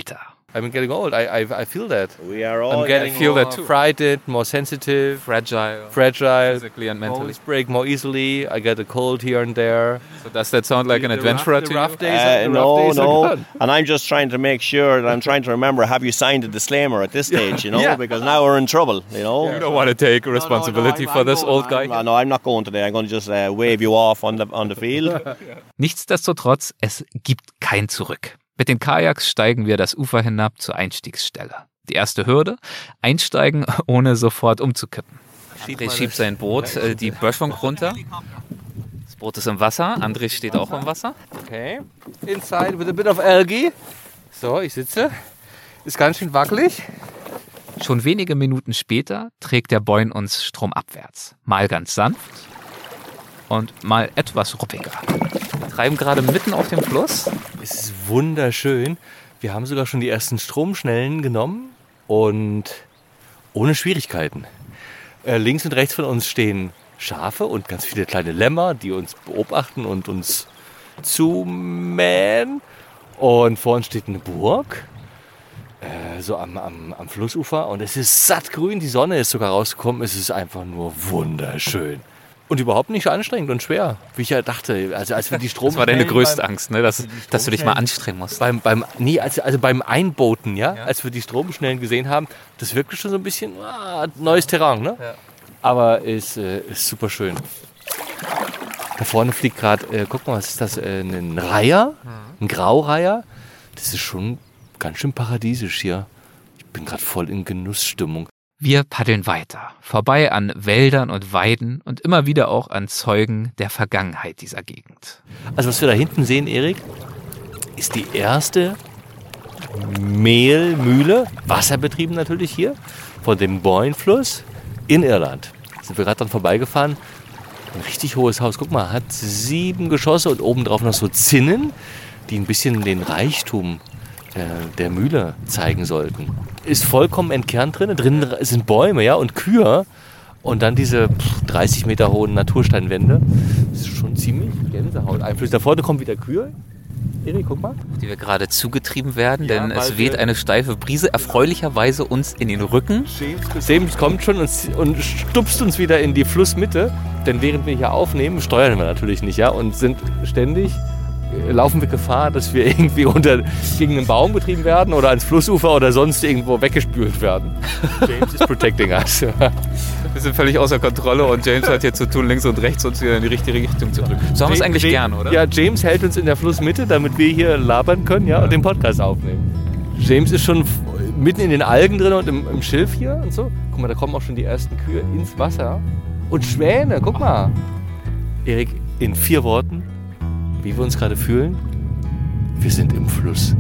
I'm getting old. I, I, I feel that. We are all I'm getting I feel more that too. frightened, more sensitive, Fragile. fragile, Physically and mentally. bones break more easily. I get a cold here and there. So does that sound like an The adventurer rough, to the you? rough days, Uh, the rough no, days are no. gone. And I'm just trying to make sure that I'm trying to remember, have you signed a disclaimer at this stage, you know? Yeah. Because now we're in trouble, you know? You don't want to take responsibility No, no, no, for I'm- this I'm old going- guy? I'm- No, I'm not going today. I'm going to just uh, wave you off on the, on the field. Nichtsdestotrotz, es gibt kein Zurück. Mit den Kajaks steigen wir das Ufer hinab zur Einstiegsstelle. Die erste Hürde, einsteigen, ohne sofort umzukippen. André schiebt sein Boot äh, die Böschung runter. Das Boot ist im Wasser, André steht auch im Wasser. Okay. Inside with a bit of algae. So, ich sitze. Ist ganz schön wackelig. Schon wenige Minuten später trägt der Boyne uns stromabwärts. Mal ganz sanft und mal etwas ruppiger. Wir treiben gerade mitten auf dem Fluss. Es ist wunderschön. Wir haben sogar schon die ersten Stromschnellen genommen und ohne Schwierigkeiten. Äh, links und rechts von uns stehen Schafe und ganz viele kleine Lämmer, die uns beobachten und uns zumähen. Und vor uns steht eine Burg, äh, so am, am, am Flussufer. Und es ist sattgrün, die Sonne ist sogar rausgekommen. Es ist einfach nur wunderschön. Und überhaupt nicht anstrengend und schwer, wie ich ja dachte. Also als wir die Strom Das war deine größte Angst, ne? dass, dass du dich mal anstrengen musst. Beim, beim, nee, also, also beim Einbooten, ja? ja, als wir die Stromschnellen gesehen haben, das wirkte schon so ein bisschen ah, neues Terrain, ne? Ja. Aber ist, äh, ist super schön. Da vorne fliegt gerade, äh, guck mal, was ist das? Äh, ein Reiher, ein Graureiher. Das ist schon ganz schön paradiesisch hier. Ich bin gerade voll in Genussstimmung. Wir paddeln weiter, vorbei an Wäldern und Weiden und immer wieder auch an Zeugen der Vergangenheit dieser Gegend. Also was wir da hinten sehen, Erik, ist die erste Mehlmühle, wasserbetrieben natürlich hier, von dem Boyne-Fluss in Irland. Da sind wir gerade dran vorbeigefahren. Ein richtig hohes Haus. Guck mal, hat sieben Geschosse und obendrauf noch so Zinnen, die ein bisschen den Reichtum der, der Mühle zeigen sollten. Ist vollkommen entkernt drin. Drinnen sind Bäume, ja, und Kühe. Und dann diese pff, dreißig Meter hohen Natursteinwände. Das ist schon ziemlich Gänsehaut. Einfluss. Da vorne kommen wieder Kühe. Erik, guck mal. Die wir gerade zugetrieben werden, Ja, denn es weil weht wir- eine steife Brise, erfreulicherweise uns in den Rücken. James kommt schon und, und stupst uns wieder in die Flussmitte. Denn während wir hier aufnehmen, steuern wir natürlich nicht, ja, und sind ständig, äh, laufen wir Gefahr, dass wir irgendwie unter, gegen einen Baum getrieben werden oder ans Flussufer oder sonst irgendwo weggespült werden. James is protecting us. Wir sind völlig außer Kontrolle und James hat hier zu tun, links und rechts uns wieder in die richtige Richtung zu drücken. So haben wir es eigentlich Ja- gern, oder? Ja, James hält uns in der Flussmitte, damit wir hier labern können, ja, und den Podcast aufnehmen. James ist schon f- mitten in den Algen drin und im, im Schilf hier und so. Guck mal, da kommen auch schon die ersten Kühe ins Wasser. Und Schwäne, guck mal. Erik, in vier Worten, wie wir uns gerade fühlen, wir sind im Fluss.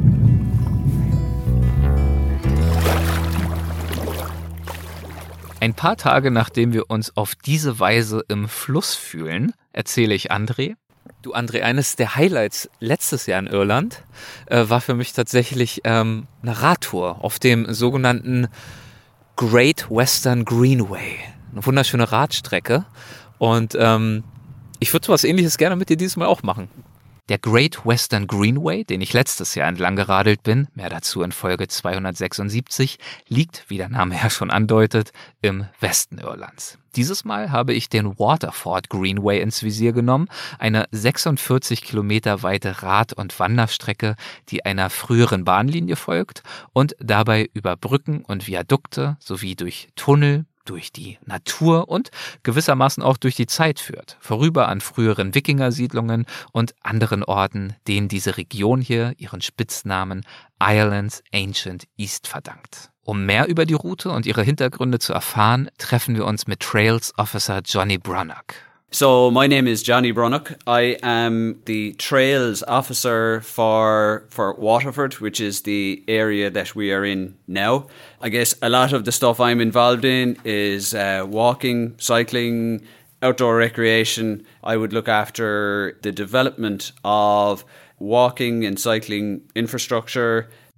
Ein paar Tage nachdem wir uns auf diese Weise im Fluss fühlen, erzähle ich André. Du André, eines der Highlights letztes Jahr in Irland äh, war für mich tatsächlich ähm, eine Radtour auf dem sogenannten Great Western Greenway. Eine wunderschöne Radstrecke. Und ähm, ich würde sowas Ähnliches gerne mit dir dieses Mal auch machen. Der Great Western Greenway, den ich letztes Jahr entlang geradelt bin, mehr dazu in Folge zweihundertsechsundsiebzig, liegt, wie der Name ja schon andeutet, im Westen Irlands. Dieses Mal habe ich den Waterford Greenway ins Visier genommen, eine sechsundvierzig Kilometer weite Rad- und Wanderstrecke, die einer früheren Bahnlinie folgt und dabei über Brücken und Viadukte sowie durch Tunnel, durch die Natur und gewissermaßen auch durch die Zeit führt, vorüber an früheren Wikingersiedlungen und anderen Orten, denen diese Region hier ihren Spitznamen Ireland's Ancient East verdankt. Um mehr über die Route und ihre Hintergründe zu erfahren, treffen wir uns mit Trails Officer Johnny Brunnock. So my name is Johnny Brunnock. I am the Trails Officer for for Waterford, which is the area that we are in now. I guess a lot of the stuff I'm involved in is uh, walking, cycling, outdoor recreation. I would look after the development of walking and cycling infrastructure.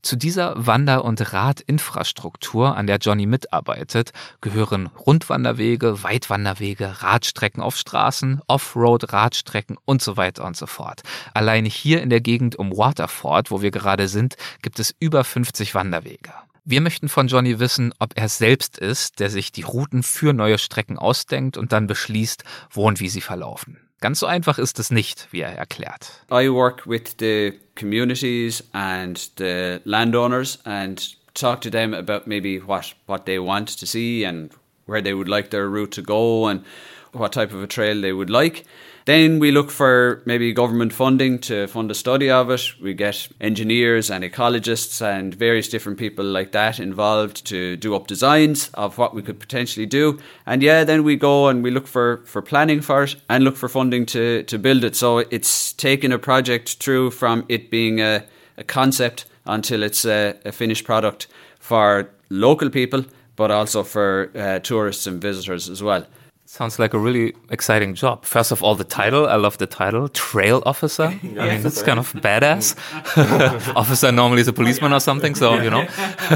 Zu dieser Wander- und Radinfrastruktur, an der Johnny mitarbeitet, gehören Rundwanderwege, Weitwanderwege, Radstrecken auf Straßen, Offroad-Radstrecken und so weiter und so fort. Allein hier in der Gegend um Waterford, wo wir gerade sind, gibt es über fünfzig Wanderwege. Wir möchten von Johnny wissen, ob er es selbst ist, der sich die Routen für neue Strecken ausdenkt und dann beschließt, wo und wie sie verlaufen. Ganz so einfach ist es nicht, wie er erklärt. I work with the communities and the landowners and talk to them about maybe what, what they want to see and where they would like their route to go and what type of a trail they would like. Then we look for maybe government funding to fund a study of it. We get engineers and ecologists and various different people like that involved to do up designs of what we could potentially do. And yeah, then we go and we look for, for planning for it and look for funding to, to build it. So it's taking a project through from it being a, a concept until it's a, a finished product for local people, but also for uh, tourists and visitors as well. Sounds like a really exciting job. First of all, the title. I love the title. Trail officer. I mean, that's kind of badass. Officer normally is a policeman or something, so, you know.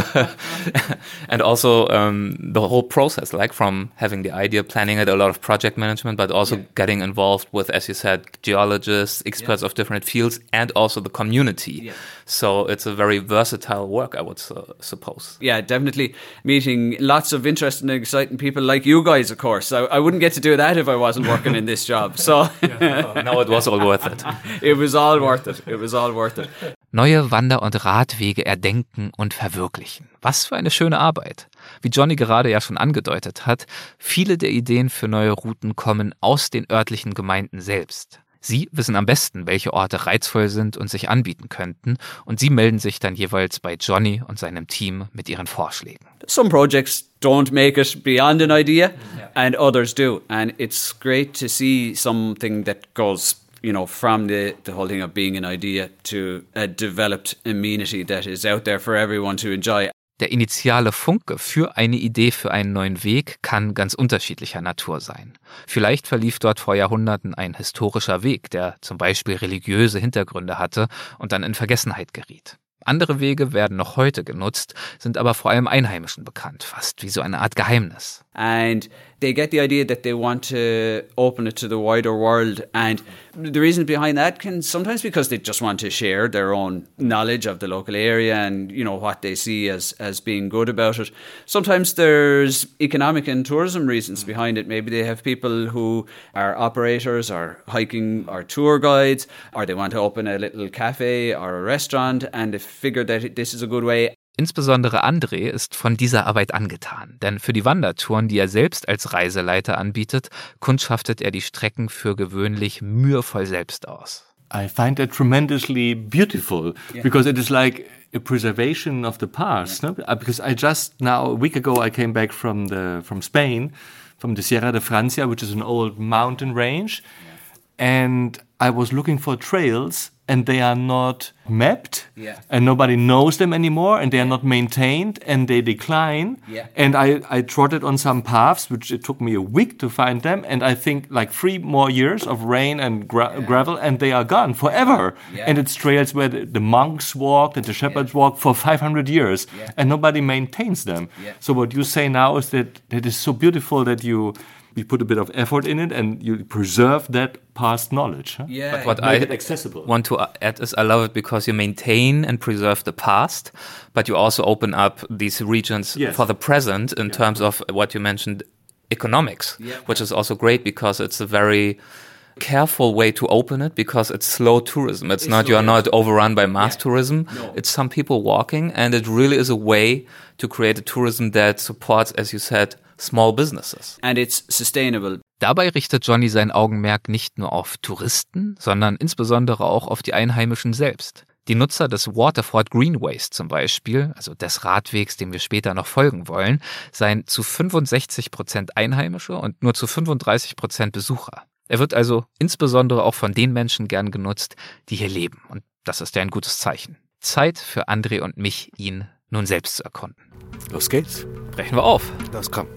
And also um, the whole process, like from having the idea, planning it, a lot of project management, but also yeah. getting involved with, as you said, geologists, experts yeah. of different fields, and also the community. Yeah. So it's a very versatile work, I would uh, suppose. Yeah, definitely. Meeting lots of interesting and exciting people like you guys, of course. I, I wouldn't get to do that if I wasn't working in this job. So no, it was all worth it. It was all worth it. It was all worth it. Neue Wander- und Radwege erdenken und verwirklichen. Was für eine schöne Arbeit. Wie Johnny gerade ja schon angedeutet hat, viele der Ideen für neue Routen kommen aus den örtlichen Gemeinden selbst. Sie wissen am besten, welche Orte reizvoll sind und sich anbieten könnten, und sie melden sich dann jeweils bei Johnny und seinem Team mit ihren Vorschlägen. Some projects don't make it beyond an idea, yeah. and others do. And it's great to see something that goes, you know, from the, the whole thing of being an idea to a developed amenity that is out there for everyone to enjoy. Der initiale Funke für eine Idee für einen neuen Weg kann ganz unterschiedlicher Natur sein. Vielleicht verlief dort vor Jahrhunderten ein historischer Weg, der zum Beispiel religiöse Hintergründe hatte und dann in Vergessenheit geriet. Andere Wege werden noch heute genutzt, sind aber vor allem Einheimischen bekannt, fast wie so eine Art Geheimnis. And they get the idea that they want to open it to the wider world, and the reason behind that can sometimes because they just want to share their own knowledge of the local area and, you know, what they see as as being good about it. Sometimes there's economic and tourism reasons behind it. Maybe they have people who are operators or hiking or tour guides, or they want to open a little cafe or a restaurant and they figure that this is a good way. Insbesondere André ist von dieser Arbeit angetan, denn für die Wandertouren, die er selbst als Reiseleiter anbietet, kundschaftet er die Strecken für gewöhnlich mühevoll selbst aus. I find that tremendously beautiful, yeah. because it is like a preservation of the past. Yeah. No? Because I just now, a week ago, I came back from the from Spain, from the Sierra de Francia, which is an old mountain range, yeah. and I was looking for trails, and they are not mapped, yeah. and nobody knows them anymore, and they are not maintained, and they decline. Yeah. And I, I trotted on some paths, which it took me a week to find them, and I think like three more years of rain and gra- yeah. gravel, and they are gone forever. Yeah. And it's trails where the, the monks walked and the shepherds yeah. walked for five hundred years, yeah. and nobody maintains them. Yeah. So what you say now is that it is so beautiful that you... you put a bit of effort in it and you preserve that past knowledge. Huh? Yeah, but what make I it accessible. want to add is I love it because you maintain and preserve the past, but you also open up these regions yes. for the present in yeah. terms of what you mentioned, economics, yeah. which is also great because it's a very careful way to open it because it's slow tourism. It's, it's not, you are not overrun by mass yeah. tourism. No. It's some people walking, and it really is a way to create a tourism that supports, as you said, small businesses. And it's sustainable. Dabei richtet Johnny sein Augenmerk nicht nur auf Touristen, sondern insbesondere auch auf die Einheimischen selbst. Die Nutzer des Waterford Greenways zum Beispiel, also des Radwegs, dem wir später noch folgen wollen, seien zu fünfundsechzig Prozent Einheimische und nur zu fünfunddreißig Prozent Besucher. Er wird also insbesondere auch von den Menschen gern genutzt, die hier leben. Und das ist ja ein gutes Zeichen. Zeit für André und mich, ihn nun selbst zu erkunden. Los geht's. Brechen wir auf. Los, komm.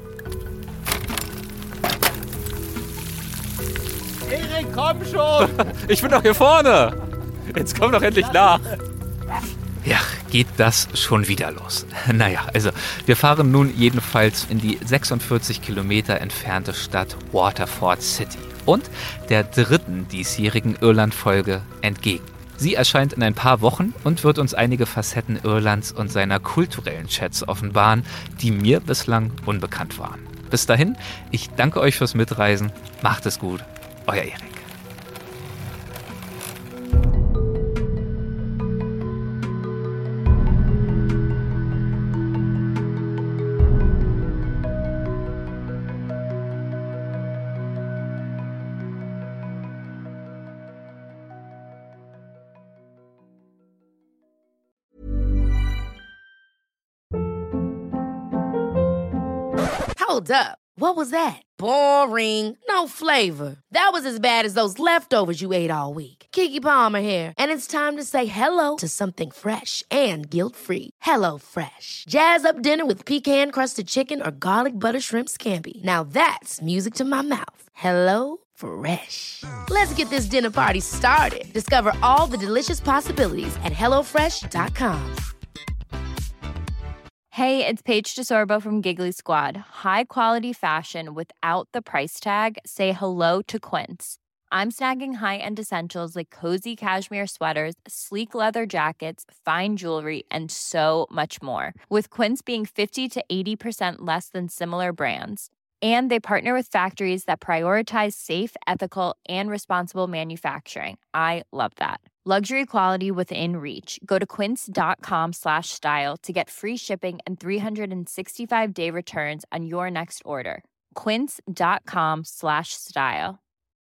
Erik, komm schon! Ich bin doch hier vorne! Jetzt komm doch endlich nach! Ja, geht das schon wieder los. Naja, also wir fahren nun jedenfalls in die sechsundvierzig Kilometer entfernte Stadt Waterford City und der dritten diesjährigen Irland-Folge entgegen. Sie erscheint in ein paar Wochen und wird uns einige Facetten Irlands und seiner kulturellen Schätze offenbaren, die mir bislang unbekannt waren. Bis dahin, ich danke euch fürs Mitreisen. Macht es gut. Euer Erik. Hold up. What was that? Boring. No flavor. That was as bad as those leftovers you ate all week. Keke Palmer here, and it's time to say hello to something fresh and guilt-free. Hello Fresh. Jazz up dinner with pecan-crusted chicken or garlic butter shrimp scampi. Now that's music to my mouth. Hello Fresh. Let's get this dinner party started. Discover all the delicious possibilities at hello fresh dot com. Hey, it's Paige DeSorbo from Giggly Squad. High quality fashion without the price tag. Say hello to Quince. I'm snagging high-end essentials like cozy cashmere sweaters, sleek leather jackets, fine jewelry, and so much more. With Quince being fifty to eighty percent less than similar brands. And they partner with factories that prioritize safe, ethical, and responsible manufacturing. I love that. Luxury quality within reach. Go to quince.com slash style to get free shipping and three sixty-five day returns on your next order. Quince.com slash style.